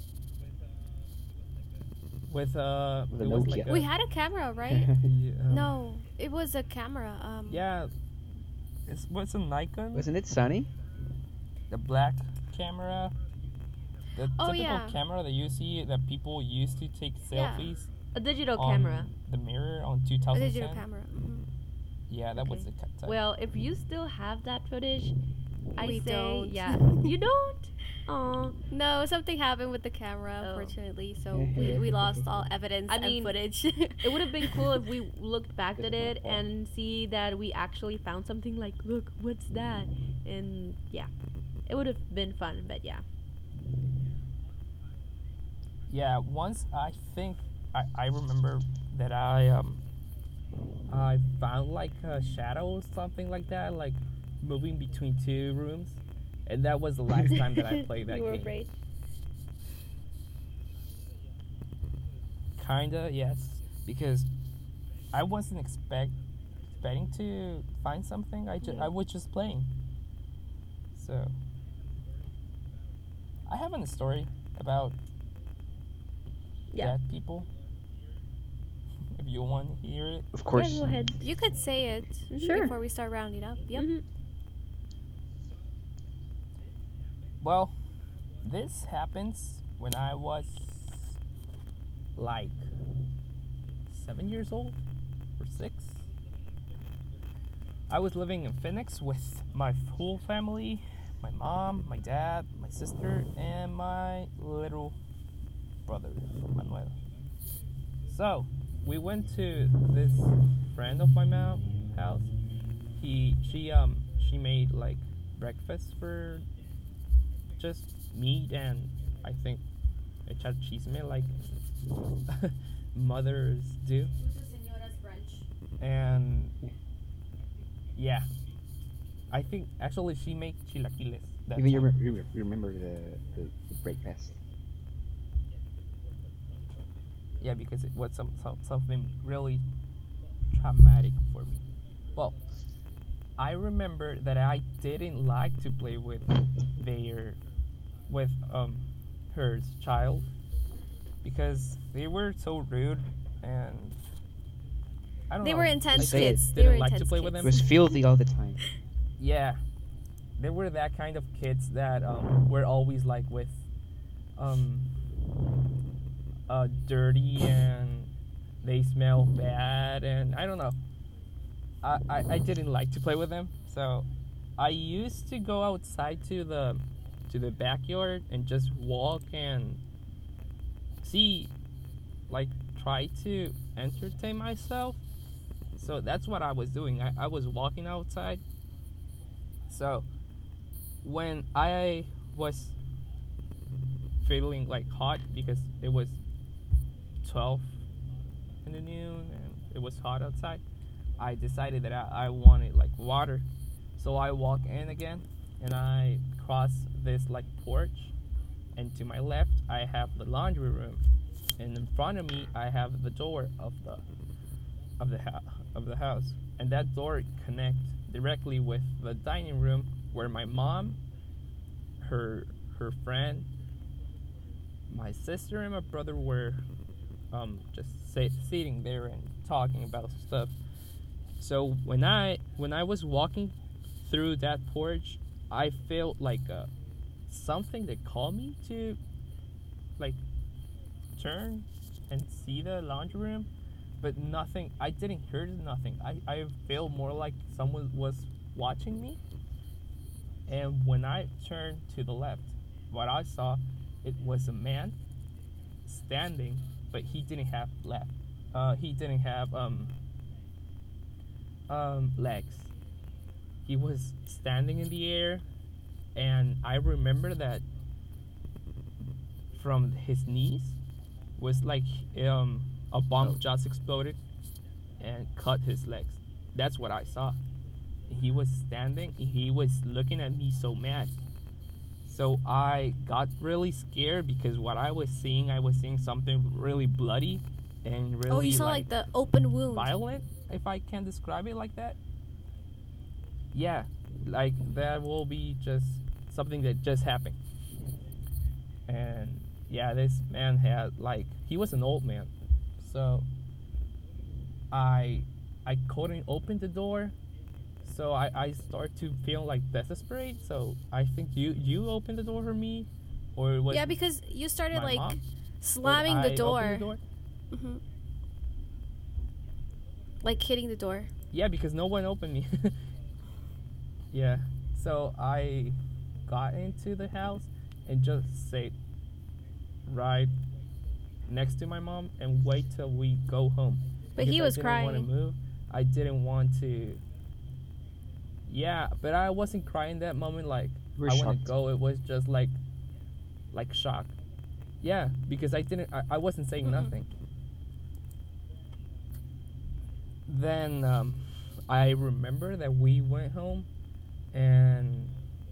Speaker 3: with
Speaker 5: With a
Speaker 3: it was
Speaker 5: Nokia.
Speaker 3: like
Speaker 1: We had a camera, right?
Speaker 3: yeah,
Speaker 1: No, it was a camera.
Speaker 3: Yeah, what's a Nikon?
Speaker 5: Wasn't it sunny?
Speaker 3: The black camera. The
Speaker 1: Oh,
Speaker 3: typical
Speaker 1: yeah.
Speaker 3: camera that you see that people used to take
Speaker 1: Yeah.
Speaker 3: selfies
Speaker 4: A digital
Speaker 3: on
Speaker 4: camera.
Speaker 3: the mirror on
Speaker 1: a
Speaker 3: 2010.
Speaker 1: digital camera.
Speaker 3: Yeah, that was
Speaker 4: Okay.
Speaker 3: the type.
Speaker 4: Well, if you still have that footage, I
Speaker 1: We
Speaker 4: say,
Speaker 1: don't.
Speaker 4: yeah, you don't. Oh,
Speaker 1: No, something happened with the camera,
Speaker 4: Oh.
Speaker 1: unfortunately. So we lost all evidence
Speaker 4: I
Speaker 1: and
Speaker 4: mean,
Speaker 1: footage.
Speaker 4: it would have been cool if we looked back
Speaker 5: It's
Speaker 4: at
Speaker 5: my
Speaker 4: it
Speaker 5: fault.
Speaker 4: and see that we actually found something like, look, what's that? And yeah, it would have been fun. But yeah,
Speaker 3: Yeah, once I think I remember that I found like a shadow or something like that, like moving between two rooms, and that was the last time that I played that
Speaker 4: you were
Speaker 3: game.
Speaker 4: afraid.
Speaker 3: Kinda, yes, because I wasn't expecting to find something. I was just playing. So I have a story about
Speaker 4: Yeah.
Speaker 3: dead people. If you want to hear it.
Speaker 5: Of course.
Speaker 4: Yeah, go ahead.
Speaker 1: You could say it
Speaker 2: Sure.
Speaker 1: before we start rounding up. Yep.
Speaker 4: Mhm.
Speaker 3: Well, this happens when I was like 7 years old or 6. I was living in Phoenix with my full family, my mom, my dad, my sister, and my little brother, Manuel. So, we went to this friend of my mom house. She made like breakfast for just meat and I think echar chisme like mothers do. And yeah, I think actually she made chilaquiles. that
Speaker 5: Even
Speaker 3: time.
Speaker 5: you remember the breakfast.
Speaker 3: Yeah, because it was something really traumatic for me. Well, I remember that I didn't like to play with her child because they were so rude and I don't
Speaker 1: They
Speaker 3: know.
Speaker 1: were intense
Speaker 5: say it.
Speaker 1: kids. They
Speaker 3: Didn't
Speaker 1: were
Speaker 3: like to
Speaker 1: intense
Speaker 3: play with
Speaker 1: kids.
Speaker 5: It was filthy all the time.
Speaker 3: Yeah, they were that kind of kids that were always like with dirty and they smell bad and I don't know. I didn't like to play with them, so I used to go outside to the backyard and just walk and see, like try to entertain myself. So that's what I was doing. I was walking outside. So when I was feeling like hot because it was 12 in the noon and it was hot outside, I decided that I wanted like water. So I walk in again and I cross this like porch and to my left I have the laundry room, and in front of me I have the door of the house, and that door connects directly with the dining room where my mom, her friend, my sister, and my brother were just sitting there and talking about stuff. So when I was walking through that porch, I felt like something that called me to like turn and see the laundry room, but nothing. I didn't hear nothing. I felt more like someone was watching me. And when I turned to the left, what I saw, it was a man standing, but he didn't have left. He didn't have legs. He was standing in the air, and I remember that from his knees was like a bomb just exploded and cut his legs. That's what I saw. He was standing. He was looking at me so mad. So I got really scared because what I was seeing something really bloody and really
Speaker 1: Oh, you saw like the open wound.
Speaker 3: violent, if I can describe it like that. Yeah, like that will be just something that just happened. And yeah, this man had like he was an old man. So I couldn't open the door. So I start to feel like desperate. So I think you opened the door for me, or it was
Speaker 1: Yeah, because you started
Speaker 3: my
Speaker 1: like
Speaker 3: mom?
Speaker 1: slamming
Speaker 3: But
Speaker 1: the
Speaker 3: I
Speaker 1: door.
Speaker 3: opened the door.
Speaker 1: Hmm. Like hitting the door.
Speaker 3: Yeah, because no one opened me. Yeah, so I got into the house and just sat right next to my mom and wait till we go home.
Speaker 1: But he was
Speaker 3: I didn't want to
Speaker 1: crying.
Speaker 3: move. I didn't want to. Yeah, but I wasn't crying that moment. Like
Speaker 5: You were
Speaker 3: I want
Speaker 5: shocked.
Speaker 3: to go. It was just like shock. Yeah, because I didn't. I wasn't saying
Speaker 1: Mhm.
Speaker 3: nothing. Then I remember that we went home, and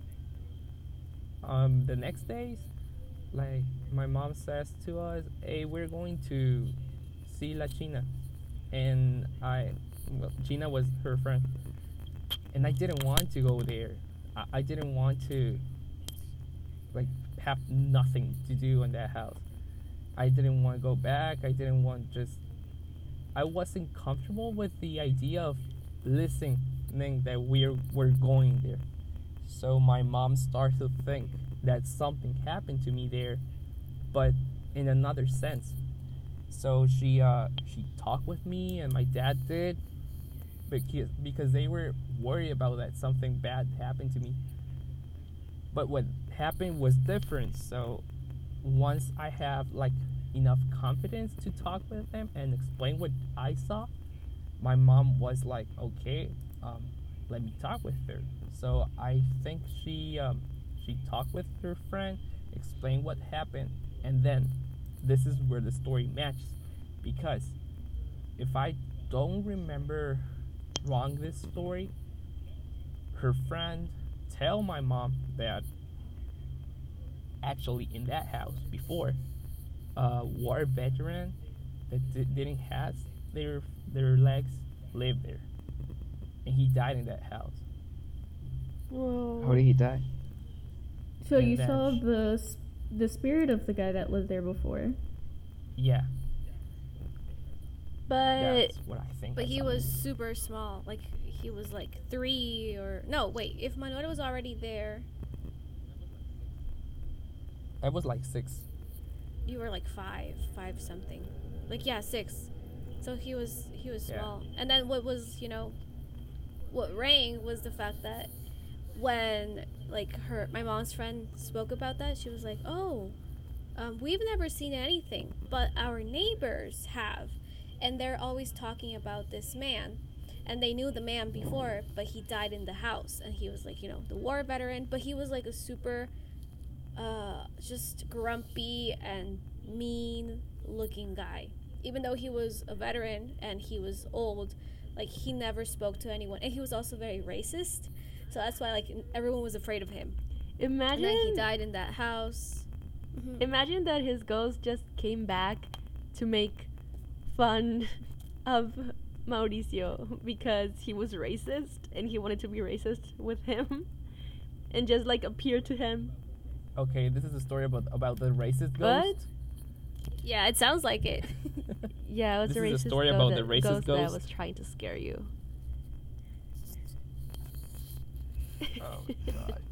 Speaker 3: the next days, like my mom says to us, "Hey, we're going to see La China," and well, Gina was her friend, and I didn't want to go there. I didn't want to like have nothing to do in that house. I didn't want to go back. I didn't want just. I wasn't comfortable with the idea of listening that we're going there. So my mom started to think that something happened to me there, but in another sense. So she talked with me, and my dad did, because they were worried about that something bad happened to me. But what happened was different. So once I have like enough confidence to talk with them and explain what I saw, my mom was like, okay, let me talk with her. So I think she talked with her friend, explained what happened, and then this is where the story matches, because if I don't remember wrong this story, her friend tell my mom that actually in that house before, a war veteran that didn't have their legs lived there, and he died in that house.
Speaker 5: How did he die?
Speaker 2: So
Speaker 3: And
Speaker 2: you
Speaker 3: then
Speaker 2: saw
Speaker 3: sh-
Speaker 2: the spirit of the guy that lived there before.
Speaker 3: Yeah,
Speaker 1: But
Speaker 3: that's what I think.
Speaker 1: but
Speaker 3: I
Speaker 1: he
Speaker 3: saw.
Speaker 1: was super small. Like he was like 3 or no, wait, if Manuel was already there,
Speaker 3: I was like 6.
Speaker 1: you were like 5 something. Like yeah, 6. So he was
Speaker 3: Yeah.
Speaker 1: small. And then what was, what rang was the fact that when like my mom's friend spoke about that, she was like, "Oh, we've never seen anything, but our neighbors have, and they're always talking about this man, and they knew the man before, but he died in the house, and he was like, the war veteran, but he was like a super, just grumpy and mean looking guy, even though he was a veteran and he was old, like he never spoke to anyone, and he was also very racist." So that's why like everyone was afraid of him. And
Speaker 4: Imagine
Speaker 1: then he died in that house. Mhm.
Speaker 4: Imagine that his ghost just came back to make fun of Mauricio because he was racist and he wanted to be racist with him and just like appear to him.
Speaker 3: Okay, this is a story about the racist
Speaker 4: What?
Speaker 3: ghost.
Speaker 1: Yeah, it sounds like it.
Speaker 4: Yeah, it was
Speaker 3: This
Speaker 4: a
Speaker 3: is
Speaker 4: racist
Speaker 3: a story
Speaker 4: ghost
Speaker 3: about
Speaker 4: that,
Speaker 3: the racist
Speaker 4: ghost that
Speaker 3: ghost.
Speaker 4: was trying to scare you.
Speaker 3: Oh my god.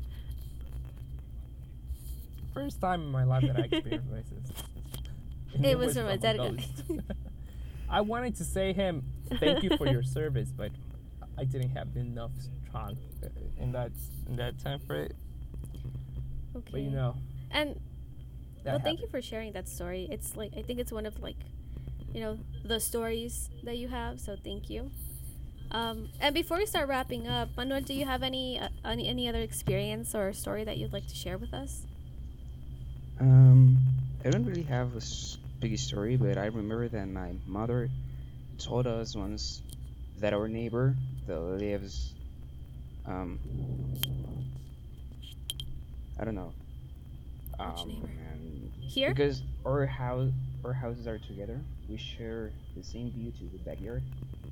Speaker 3: First time in my life that I experienced racist. And
Speaker 1: It was from a dead guy.
Speaker 3: ghost. I wanted to say him thank you for your service, but I didn't have enough strong in that time for it.
Speaker 1: Okay.
Speaker 3: But you know,
Speaker 1: And
Speaker 3: that
Speaker 1: well, thank you
Speaker 3: happened.
Speaker 1: for sharing that story. It's like I think it's one of like, the stories that you have. So thank you. And before we start wrapping up, Manuel, do you have any other experience or story that you'd like to share with us?
Speaker 5: I don't really have a big story, but I remember that my mother told us once that our neighbor that lives, um, I don't know,
Speaker 1: Which neighbor?
Speaker 5: man,
Speaker 1: Here?
Speaker 5: because our houses are together. We share the same view to the backyard,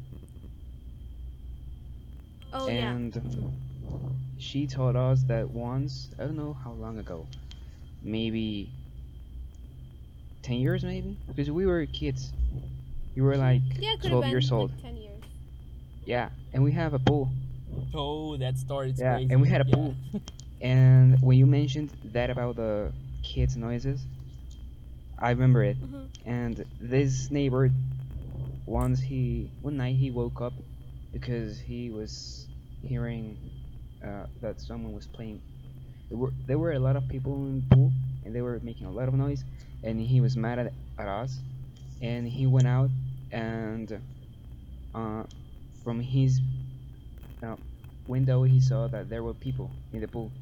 Speaker 1: Oh yeah.
Speaker 5: and
Speaker 1: Mhm.
Speaker 5: she told us that once, I don't know how long ago, maybe 10 years, maybe, because we were kids. We were like
Speaker 1: Yeah, it could have
Speaker 5: 12
Speaker 1: been
Speaker 5: years old.
Speaker 1: like 10 years.
Speaker 5: Yeah, and we have a pool.
Speaker 3: Oh, that story is
Speaker 5: Yeah,
Speaker 3: crazy.
Speaker 5: and we had a
Speaker 3: Yeah.
Speaker 5: pool. And when you mentioned that about the kids' noises, I remember it.
Speaker 1: Hmm.
Speaker 5: And this neighbor, one night he woke up because he was hearing that someone was playing. There were a lot of people in the pool, and they were making a lot of noise. And he was mad at us, and he went out, and uh, from his uh, window he saw that there were people in the pool.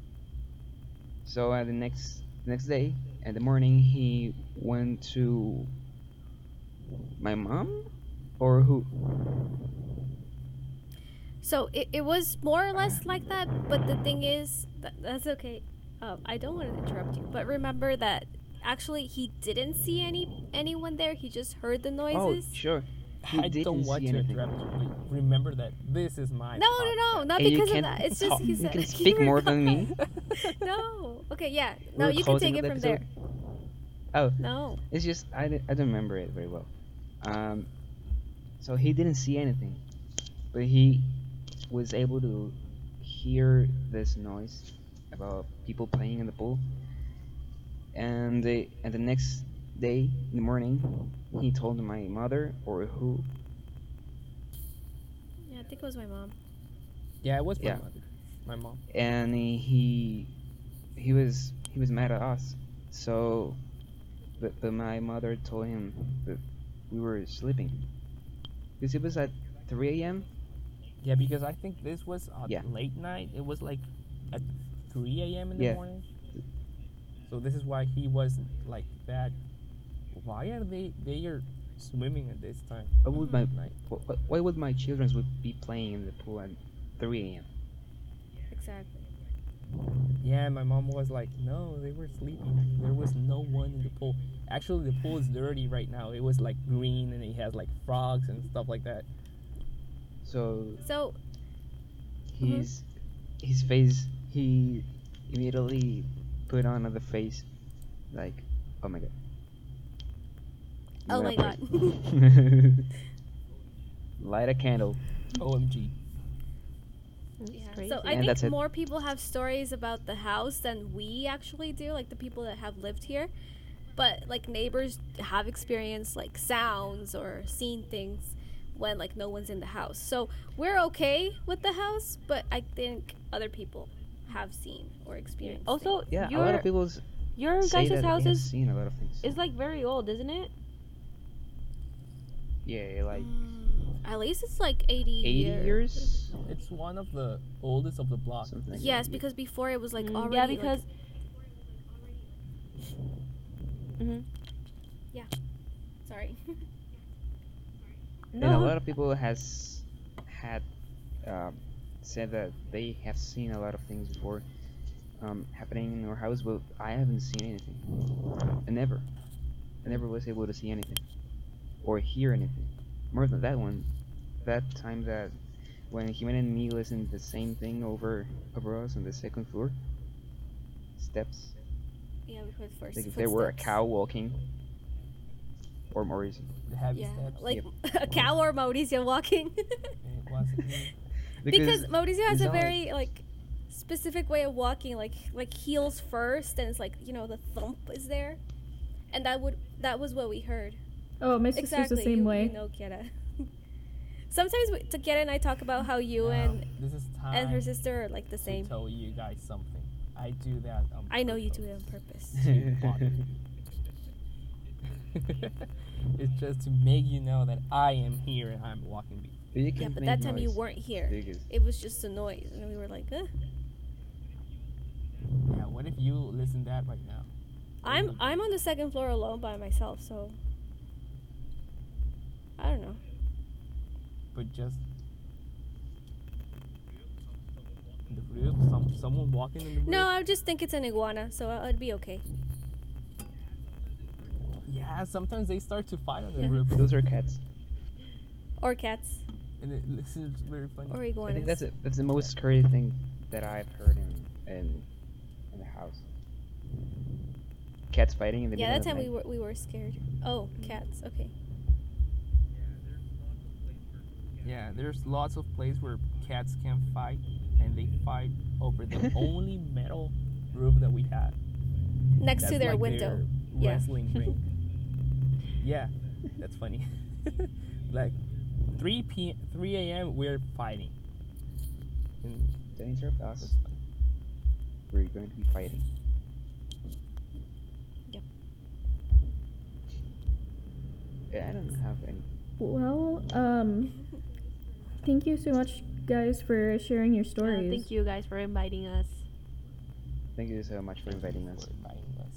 Speaker 5: So the next day, in the morning, he went to my mom, or who?
Speaker 1: So it was more or less like that, but the thing is, that's okay. I don't want to interrupt you, but remember that actually he didn't see anyone there. He just heard the
Speaker 5: Oh,
Speaker 1: noises.
Speaker 5: sure. He
Speaker 3: I
Speaker 5: didn't
Speaker 3: don't want
Speaker 5: see
Speaker 3: to
Speaker 5: anything.
Speaker 3: interrupt you, but remember that this is my
Speaker 1: No, not
Speaker 5: And you
Speaker 1: because of
Speaker 5: can't
Speaker 1: that. It's just
Speaker 5: talk-
Speaker 1: he
Speaker 5: you
Speaker 1: said
Speaker 5: can speak more than me.
Speaker 1: No. Okay, yeah. No,
Speaker 5: We're
Speaker 1: you can
Speaker 5: closing
Speaker 1: take
Speaker 5: up
Speaker 1: it
Speaker 5: the
Speaker 1: from there.
Speaker 5: episode. Oh,
Speaker 1: No.
Speaker 5: it's just I don't remember it very well. Um, so he didn't see anything, but he was able to hear this noise about people playing in the pool. And the next day in the morning, he told my mother, or who?
Speaker 1: Yeah, I think it was my mom.
Speaker 3: Yeah, it was my
Speaker 5: Yeah.
Speaker 3: mother, my mom.
Speaker 5: And he was mad at us. So, but my mother told him that we were sleeping because it was at 3 a.m.
Speaker 3: Yeah, because I think this was
Speaker 5: Yeah.
Speaker 3: late night. It was like at 3 a.m. in
Speaker 5: Yeah.
Speaker 3: the morning. So this is why he was like that. Why are they are swimming at this time?
Speaker 5: Why would my
Speaker 3: Night.
Speaker 5: why would my children would be playing in the pool at 3 a.m.?
Speaker 1: Exactly.
Speaker 3: Yeah, my mom was like, no, they were sleeping. There was no one in the pool. Actually, the pool is dirty right now. It was like green and it has like frogs and stuff like that.
Speaker 5: So
Speaker 1: So,
Speaker 5: his face, he immediately put on the face like, oh my god.
Speaker 1: oh my god.
Speaker 5: god. Light a candle.
Speaker 3: OMG.
Speaker 4: That's
Speaker 1: Yeah.
Speaker 4: crazy.
Speaker 1: So I
Speaker 5: And
Speaker 1: think
Speaker 5: that's it.
Speaker 1: more people have stories about the house than we actually do, like the people that have lived here. But like neighbors have experienced like sounds or seen things when like no one's in the house. So we're okay with the house, but I think other people have seen or experienced.
Speaker 4: Also,
Speaker 5: Yeah, a lot
Speaker 4: your
Speaker 5: of people
Speaker 4: your
Speaker 5: say
Speaker 4: guys'
Speaker 5: that
Speaker 4: house
Speaker 5: they have
Speaker 4: is
Speaker 5: seen a lot of things.
Speaker 4: like very old, isn't it?
Speaker 5: Yeah, like
Speaker 1: at least it's like 80
Speaker 5: 80 years.
Speaker 3: It's one of the oldest of the block.
Speaker 5: Something like
Speaker 1: Yes,
Speaker 5: that.
Speaker 1: because before it was like
Speaker 4: Mm,
Speaker 1: already
Speaker 4: yeah,
Speaker 1: like-
Speaker 4: because. hmm
Speaker 1: sorry.
Speaker 5: And a lot of people had said that they have seen a lot of things before. happening in our house, but I haven't seen anything. I never was able to see anything or hear anything. More than that one, that time that when Jimena and me listened the same thing over us on the second floor, steps.
Speaker 1: Yeah, we heard first.
Speaker 5: Like if there were a
Speaker 1: footsteps.
Speaker 5: cow walking, or Maurice.
Speaker 3: The heavy
Speaker 1: Yeah,
Speaker 3: steps.
Speaker 1: like a cow or Mauricio walking.
Speaker 3: It wasn't me.
Speaker 1: Because Mauricio has
Speaker 5: it's
Speaker 1: a
Speaker 5: not like-
Speaker 1: very like specific way of walking, like heels first, and it's like the thump is there, and that was what we heard.
Speaker 2: Oh, my sister's
Speaker 1: Exactly.
Speaker 2: the same
Speaker 1: you,
Speaker 2: way.
Speaker 1: You know, Kiera. Sometimes Kiera and I talk about how you
Speaker 3: This is time
Speaker 1: and her sister are like the
Speaker 3: to
Speaker 1: same.
Speaker 3: tell you guys something. I do that.
Speaker 1: I know you do it on purpose.
Speaker 3: It's just to make you know that I am here and I'm walking.
Speaker 5: But you
Speaker 1: Yeah,
Speaker 5: can
Speaker 1: but
Speaker 5: make
Speaker 1: that time you
Speaker 5: noise
Speaker 1: weren't here.
Speaker 5: because
Speaker 1: It was just a noise, and we were like,
Speaker 3: Yeah, what if you listen to that right now?
Speaker 1: I'm on the second floor alone by myself, so I don't know.
Speaker 3: But just the roof, someone walking in the roof.
Speaker 1: No, I just think it's an iguana, so it'd be okay.
Speaker 3: Yeah, sometimes they start to fight on the
Speaker 1: Yeah.
Speaker 3: roof,
Speaker 5: those are cats.
Speaker 1: Or cats,
Speaker 3: and it looks very funny.
Speaker 1: or
Speaker 5: I
Speaker 1: iguanas.
Speaker 5: think that's the most scary thing that I've heard in the house. Cats fighting in the
Speaker 1: Yeah,
Speaker 5: middle
Speaker 1: that
Speaker 5: of
Speaker 1: time
Speaker 5: the night.
Speaker 1: we were scared. Oh, cats. Okay.
Speaker 3: Yeah, there's lots of places where cats can fight, and they fight over the only metal roof that we have.
Speaker 1: Next to
Speaker 3: That's
Speaker 1: their
Speaker 3: like
Speaker 1: window.
Speaker 3: their
Speaker 1: Yeah.
Speaker 3: wrestling ring. Yeah, that's funny. Like 3 a.m. we're fighting. And
Speaker 5: Don't interrupt us.
Speaker 3: that's funny.
Speaker 5: We're going to be fighting.
Speaker 1: Yep.
Speaker 5: Yeah, I don't have any.
Speaker 2: Well, thank you so much, guys, for sharing your stories.
Speaker 4: Thank you guys for inviting us.
Speaker 5: Thank you so much for inviting us.
Speaker 3: For inviting us.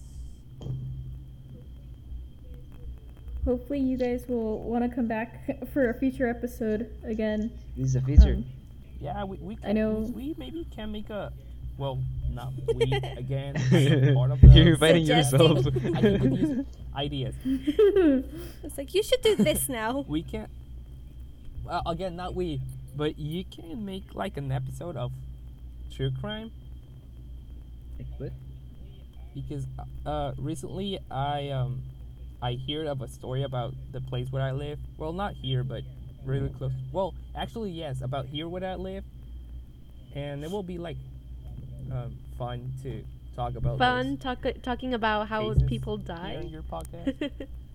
Speaker 2: Hopefully, you guys will want to come back for a future episode again.
Speaker 5: This is a feature.
Speaker 3: Yeah, we can,
Speaker 2: I know.
Speaker 3: we maybe can make a, well, not we again. I am part of the
Speaker 5: You're inviting
Speaker 1: Suggesting.
Speaker 5: yourself.
Speaker 3: I can use ideas.
Speaker 1: It's like you should do this now.
Speaker 3: We can. Well, again, not we, but you can make like an episode of true crime,
Speaker 5: What?
Speaker 3: because recently I heard of a story about the place where I live. Well, not here, but really close. Well, actually, yes, about here where I live, and it will be like fun to talk about.
Speaker 4: Fun
Speaker 3: those
Speaker 4: talking about how
Speaker 3: cases
Speaker 4: people
Speaker 3: here on
Speaker 4: die
Speaker 3: your podcast.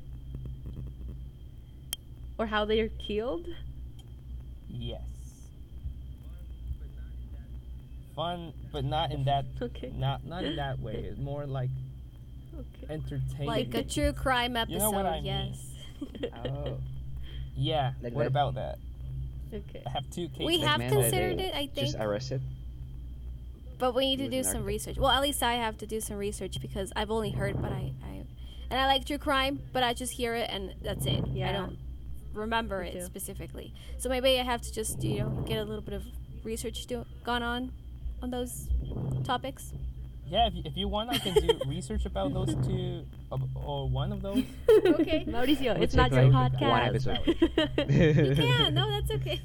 Speaker 4: or how they are killed.
Speaker 3: Yes. Fun, but not in that.
Speaker 4: Okay.
Speaker 3: Not in that way. It's more like
Speaker 4: Okay.
Speaker 3: entertaining.
Speaker 1: Like a true crime episode.
Speaker 3: You know what I mean.
Speaker 1: Yes.
Speaker 5: Oh.
Speaker 3: Yeah.
Speaker 5: Like
Speaker 3: what
Speaker 5: that?
Speaker 3: about that?
Speaker 4: Okay.
Speaker 3: I have 2 cases.
Speaker 1: We
Speaker 5: Like
Speaker 1: have
Speaker 5: man that
Speaker 1: considered
Speaker 5: they
Speaker 1: it, I think,
Speaker 5: Just arrested.
Speaker 1: but we need
Speaker 5: He
Speaker 1: to
Speaker 5: was
Speaker 1: do
Speaker 5: an
Speaker 1: some
Speaker 5: architect.
Speaker 1: research. Well, at least I have to do some research because I've only heard, but and I like true crime, but I just hear it and that's it. I
Speaker 4: Yeah.
Speaker 1: don't remember
Speaker 4: Me
Speaker 1: it
Speaker 4: too.
Speaker 1: specifically. So maybe I have to just get a little bit of research gone on those topics.
Speaker 3: Yeah, if you want, I can do research about those 2 or one of those.
Speaker 1: Okay.
Speaker 4: Mauricio,
Speaker 5: We'll
Speaker 4: it's not
Speaker 5: take,
Speaker 4: your
Speaker 5: like,
Speaker 4: podcast.
Speaker 5: one episode.
Speaker 1: You can. No, that's okay.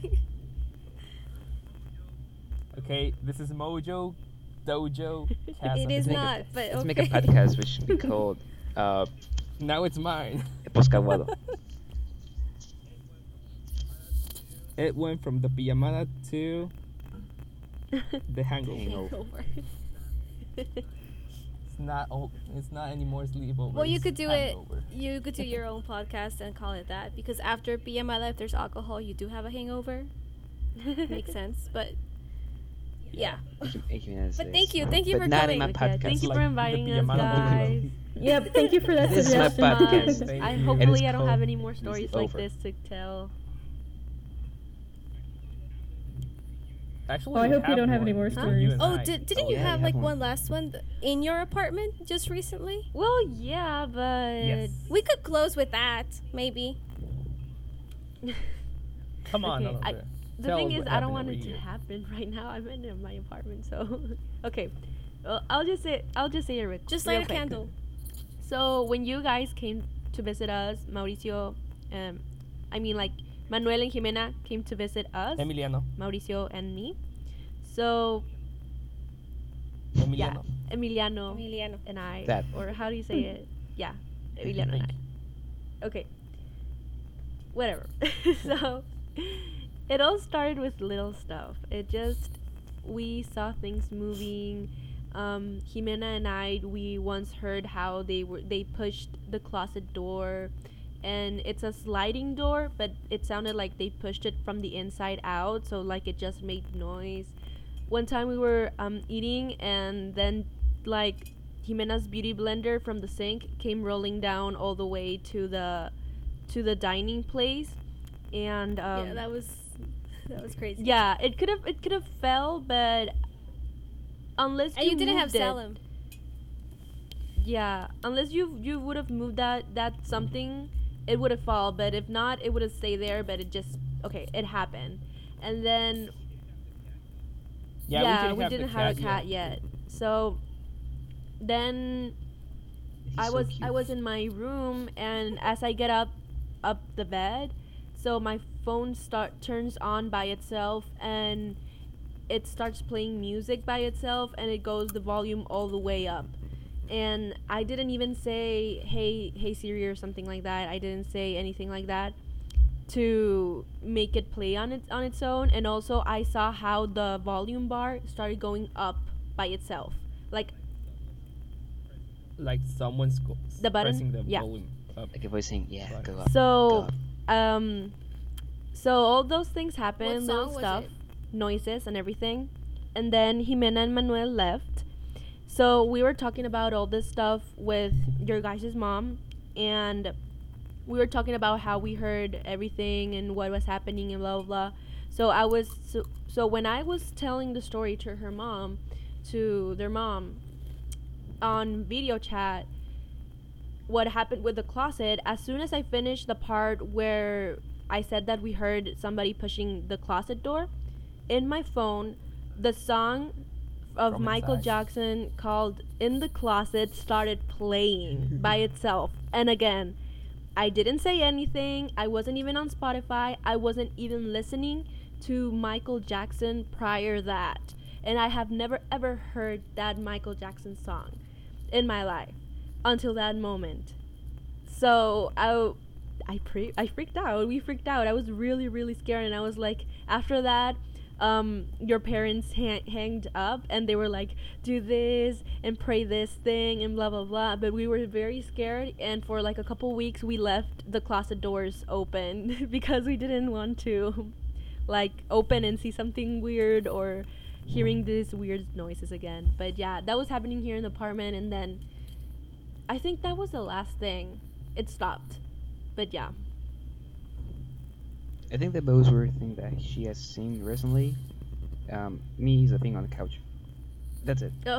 Speaker 3: Okay, this is Mojo Dojo Casa.
Speaker 1: It is
Speaker 5: make a-
Speaker 1: not, but
Speaker 5: Let's
Speaker 1: okay.
Speaker 5: make a podcast which should be called
Speaker 3: Now it's mine.
Speaker 5: Poscaguado.
Speaker 3: It went from the pijamada to the hangover.
Speaker 1: Hangover.
Speaker 3: It's not. It's not anymore sleepover.
Speaker 1: Well, you
Speaker 3: it's
Speaker 1: could do
Speaker 3: hangover.
Speaker 1: it. You could do your own podcast and call it that because after BMI, if there's alcohol, you do have a hangover. Makes sense, but yeah. But thank you
Speaker 5: But
Speaker 1: for
Speaker 5: not
Speaker 1: coming.
Speaker 5: in my
Speaker 4: Okay,
Speaker 5: podcast.
Speaker 4: thank you
Speaker 3: Like
Speaker 4: for
Speaker 3: the
Speaker 4: inviting us,
Speaker 3: pijamada
Speaker 4: guys.
Speaker 2: Yep, thank you for that
Speaker 5: This is my
Speaker 2: suggestion.
Speaker 5: podcast.
Speaker 3: Thank
Speaker 4: I
Speaker 3: you.
Speaker 4: hopefully
Speaker 5: is
Speaker 4: I don't
Speaker 5: called
Speaker 4: have any more
Speaker 5: This is
Speaker 4: stories like
Speaker 5: Over.
Speaker 4: this to tell.
Speaker 3: Actually,
Speaker 2: Oh, I
Speaker 3: we
Speaker 2: hope you don't have any
Speaker 3: one.
Speaker 2: more
Speaker 3: Just
Speaker 2: stories.
Speaker 3: you and
Speaker 1: Oh,
Speaker 3: I.
Speaker 1: didn't
Speaker 5: Oh,
Speaker 1: you
Speaker 5: yeah,
Speaker 1: have
Speaker 5: you
Speaker 1: like
Speaker 5: have
Speaker 1: one
Speaker 5: one.
Speaker 1: last one in your apartment just recently?
Speaker 4: Well, yeah, but
Speaker 3: Yes.
Speaker 1: We could close with that, maybe.
Speaker 3: Come on,
Speaker 4: Okay,
Speaker 3: Alondra.
Speaker 4: the
Speaker 3: Tell
Speaker 4: thing
Speaker 3: us
Speaker 4: is,
Speaker 3: what
Speaker 4: I don't
Speaker 3: happened
Speaker 4: want
Speaker 3: over
Speaker 4: it to
Speaker 3: here.
Speaker 4: happen right now. I'm in my apartment, so okay. Well, I'll just say it
Speaker 1: Just
Speaker 4: real
Speaker 1: light a
Speaker 4: quick.
Speaker 1: candle.
Speaker 4: So when you guys came to visit us, Mauricio, I mean like Manuel and Jimena came to visit us,
Speaker 3: Emiliano.
Speaker 4: Mauricio and me. So
Speaker 3: Emiliano.
Speaker 4: Emiliano
Speaker 1: Emiliano.
Speaker 4: and I,
Speaker 5: That.
Speaker 4: or how do you say it? Yeah, Emiliano and
Speaker 3: Thank
Speaker 4: I. Okay. Whatever. So it all started with little stuff. We saw things moving. Jimena and I, we once heard how they pushed the closet door, and it's a sliding door, but it sounded like they pushed it from the inside out, so like it just made noise. One time we were eating, and then like Jimena's beauty blender from the sink came rolling down all the way to the dining place, and
Speaker 1: Yeah, that was crazy.
Speaker 4: yeah, it could have fell, but unless
Speaker 1: And you didn't have
Speaker 4: moved it-
Speaker 1: Salem.
Speaker 4: yeah, unless you would have moved that something, it would have fall. But if not, it would have stayed there. But it happened, and then we didn't have a cat yet. So then
Speaker 5: He's
Speaker 4: I
Speaker 5: so
Speaker 4: was
Speaker 5: cute.
Speaker 4: in my room, and as I get up the bed, so my phone turns on by itself, and it starts playing music by itself, and it goes the volume all the way up. And I didn't even say hey Siri or something like that. I didn't say anything like that to make it play on its own. And also I saw how the volume bar started going up by itself, like
Speaker 3: Like someone's
Speaker 4: The button?
Speaker 3: pressing the
Speaker 4: Yeah.
Speaker 3: volume up.
Speaker 5: Like a voice saying, "Yeah,
Speaker 3: Right.
Speaker 5: go up."
Speaker 4: so
Speaker 5: go up."
Speaker 4: so all those things
Speaker 1: What
Speaker 4: happened,
Speaker 1: song
Speaker 4: little
Speaker 1: was
Speaker 4: stuff,
Speaker 1: it?
Speaker 4: noises and everything. And then Jimena and Manuel left. So we were talking about all this stuff with your guys' mom, and we were talking about how we heard everything and what was happening and blah blah blah. So when I was telling the story to her mom, to their mom on video chat, what happened with the closet, as soon as I finished the part where I said that we heard somebody pushing the closet door, in my phone, the song of
Speaker 3: From
Speaker 4: Michael
Speaker 3: inside.
Speaker 4: Jackson called In the Closet started playing by itself. And again, I didn't say anything. I wasn't even on Spotify. I wasn't even listening to Michael Jackson prior that. And I have never ever heard that Michael Jackson song in my life until that moment. So I freaked out. We freaked out. I was really, really scared. And I was like, after that, your parents hanged up, and they were like, do this and pray this thing and blah blah blah. But we were very scared, and for like a couple weeks we left the closet doors open because we didn't want to like open and see something weird or hearing these weird noises again. But yeah, that was happening here in the apartment, and then I think that was the last thing. It stopped. But yeah.
Speaker 5: I think the most weird thing that she has seen recently, me sleeping on the couch. That's it.
Speaker 4: Oh.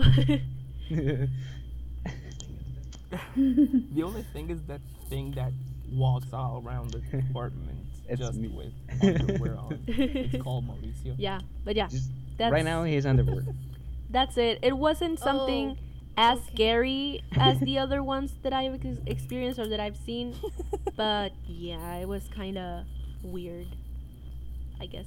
Speaker 3: The only thing is that thing that walks all around the apartment
Speaker 5: It's
Speaker 3: just
Speaker 5: me.
Speaker 3: with underwear on. It's called Mauricio.
Speaker 4: Yeah, but yeah,
Speaker 5: Just
Speaker 4: that's
Speaker 5: right now, he's underwear.
Speaker 4: that's it. It wasn't something as
Speaker 1: okay.
Speaker 4: scary as the other ones that I've experienced or that I've seen, but yeah, it was kind of weird, I guess.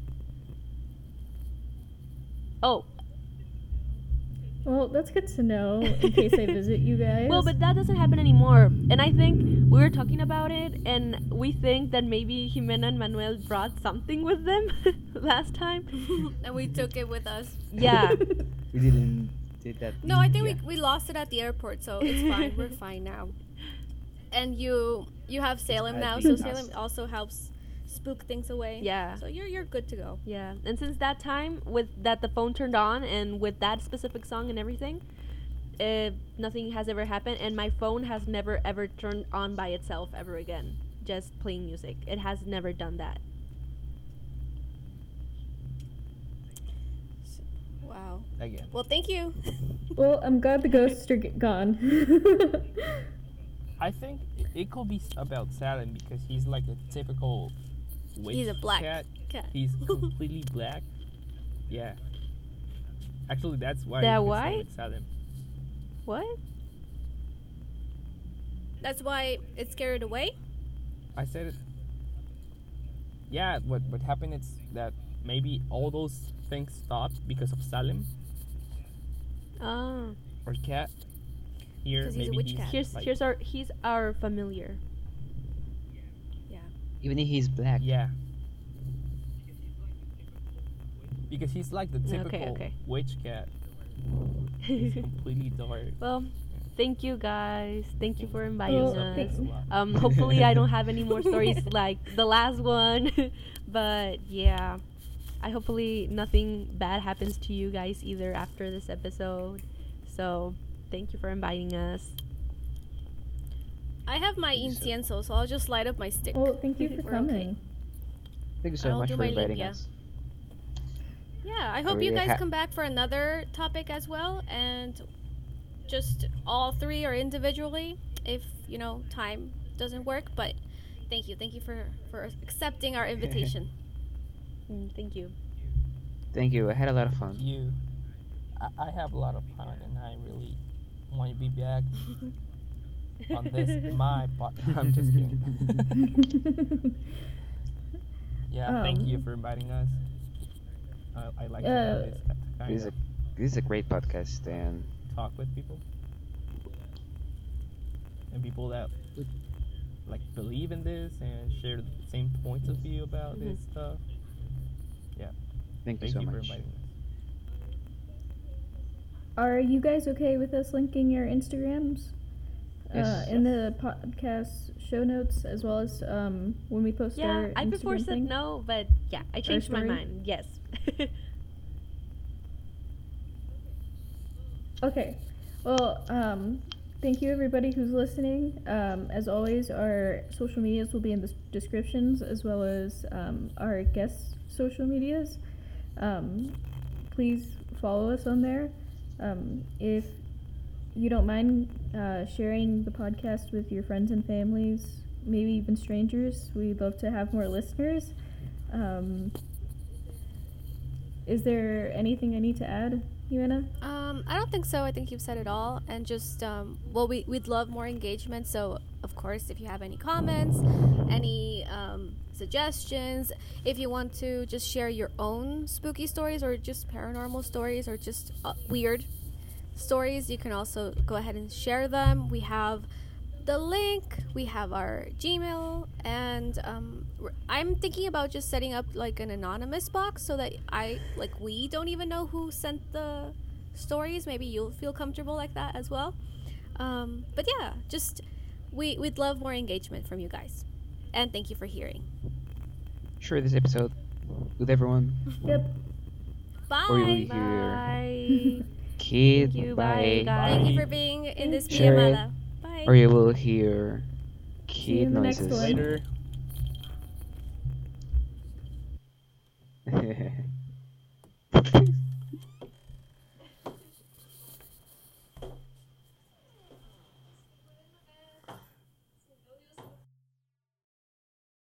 Speaker 4: Oh,
Speaker 2: Well, that's good to know in case I visit you guys.
Speaker 4: well, but that doesn't happen anymore. And I think we were talking about it, and we think that maybe Jimena and Manuel brought something with them last time.
Speaker 1: And we took it with us.
Speaker 4: Yeah.
Speaker 5: We didn't did that.
Speaker 1: No, I think
Speaker 5: yeah.
Speaker 1: we lost it at the airport, so it's fine. We're fine now. And you have Salem
Speaker 5: I'd
Speaker 1: now,
Speaker 5: be
Speaker 1: so
Speaker 5: lost.
Speaker 1: Salem also helps spook things away.
Speaker 4: Yeah.
Speaker 1: So you're good to go.
Speaker 4: Yeah, and since that time, with that the phone turned on and with that specific song and everything, nothing has ever happened, and my phone has never ever turned on by itself ever again, just playing music. It has never done that.
Speaker 1: Wow.
Speaker 3: Again.
Speaker 1: Well, thank you.
Speaker 2: Well, I'm glad the ghosts are gone.
Speaker 3: I think it could be about Salem because he's like a typical witch
Speaker 1: He's a black
Speaker 3: cat.
Speaker 1: cat.
Speaker 3: He's completely black. Yeah. Actually, that's why
Speaker 4: That
Speaker 3: it's
Speaker 4: why?
Speaker 3: named Salem.
Speaker 4: What?
Speaker 1: That's why it's scared away.
Speaker 3: I said it. Yeah, what happened is that maybe all those things stopped because of Salem
Speaker 4: Oh.
Speaker 3: or Cat. Here,
Speaker 1: 'Cause he's a
Speaker 3: maybe
Speaker 1: witch cat.
Speaker 4: He's our familiar.
Speaker 1: Yeah.
Speaker 5: Even if he's black.
Speaker 3: Yeah. Because he's like the
Speaker 4: Okay,
Speaker 3: typical
Speaker 4: okay.
Speaker 3: witch cat. He's completely dark.
Speaker 4: Well, thank you guys. Thank you for inviting
Speaker 2: Well,
Speaker 4: us.
Speaker 2: thank-
Speaker 4: Hopefully I don't have any more stories like the last one. But yeah. Hopefully nothing bad happens to you guys either after this episode. So thank you for inviting us.
Speaker 1: I have my
Speaker 5: Thank you so-
Speaker 1: incienso, so I'll just light up my stick.
Speaker 2: Well, thank you for
Speaker 1: We're okay.
Speaker 2: coming.
Speaker 5: Thank you so
Speaker 1: I'll
Speaker 5: much
Speaker 1: do
Speaker 5: for
Speaker 1: my
Speaker 5: inviting
Speaker 1: limpia.
Speaker 5: us.
Speaker 1: Yeah, I hope
Speaker 5: we
Speaker 1: you guys
Speaker 5: ha-
Speaker 1: come back for another topic as well, and just all three or individually, if time doesn't work. But thank you for accepting our invitation.
Speaker 4: Thank you.
Speaker 5: Thank you. I had a lot of fun.
Speaker 3: You, I have a lot of fun, and I really want to be back on this my podcast. I'm just kidding. Yeah, thank you for inviting us. I like to have this kind
Speaker 5: This is
Speaker 3: of
Speaker 5: this is a great podcast, and
Speaker 3: talk with people, and people that like believe in this and share the same points of view about this stuff.
Speaker 5: thank you
Speaker 3: Thank
Speaker 5: so
Speaker 3: you for
Speaker 5: much.
Speaker 3: inviting us.
Speaker 2: Are you guys okay with us linking your Instagrams
Speaker 5: Yes.
Speaker 2: in the podcast show notes, as well as when we post
Speaker 4: Yeah,
Speaker 2: our
Speaker 4: I before
Speaker 2: Instagram
Speaker 4: said
Speaker 2: thing?
Speaker 4: no, but yeah, I changed my
Speaker 2: story?
Speaker 4: mind. Yes.
Speaker 2: Okay. Well, thank you everybody who's listening. As always, our social medias will be in the descriptions, as well as our guest social medias. Please follow us on there. If you don't mind sharing the podcast with your friends and families, maybe even strangers, we'd love to have more listeners. Is there anything I need to add, Jimena?
Speaker 1: I don't think so. I think you've said it all. And just, we'd love more engagement. So, of course, if you have any comments, any suggestions, if you want to just share your own spooky stories or just paranormal stories or just weird stories, you can also go ahead and share them. We have the link, we have our Gmail, and I'm thinking about just setting up like an anonymous box so that we don't even know who sent the stories. Maybe you'll feel comfortable like that as well. But yeah, just we'd love more engagement from you guys, and thank you for hearing.
Speaker 5: Share this episode with everyone.
Speaker 2: Yep.
Speaker 1: Bye.
Speaker 5: Or you'll hear
Speaker 4: Bye.
Speaker 5: Kid.
Speaker 4: Thank you, bye, guys.
Speaker 1: Thank you for being in this
Speaker 5: Share it.
Speaker 1: pijamada. Bye.
Speaker 5: Or you will hear
Speaker 2: See you
Speaker 5: kid
Speaker 2: in the next
Speaker 5: noises.
Speaker 2: one.
Speaker 3: Later.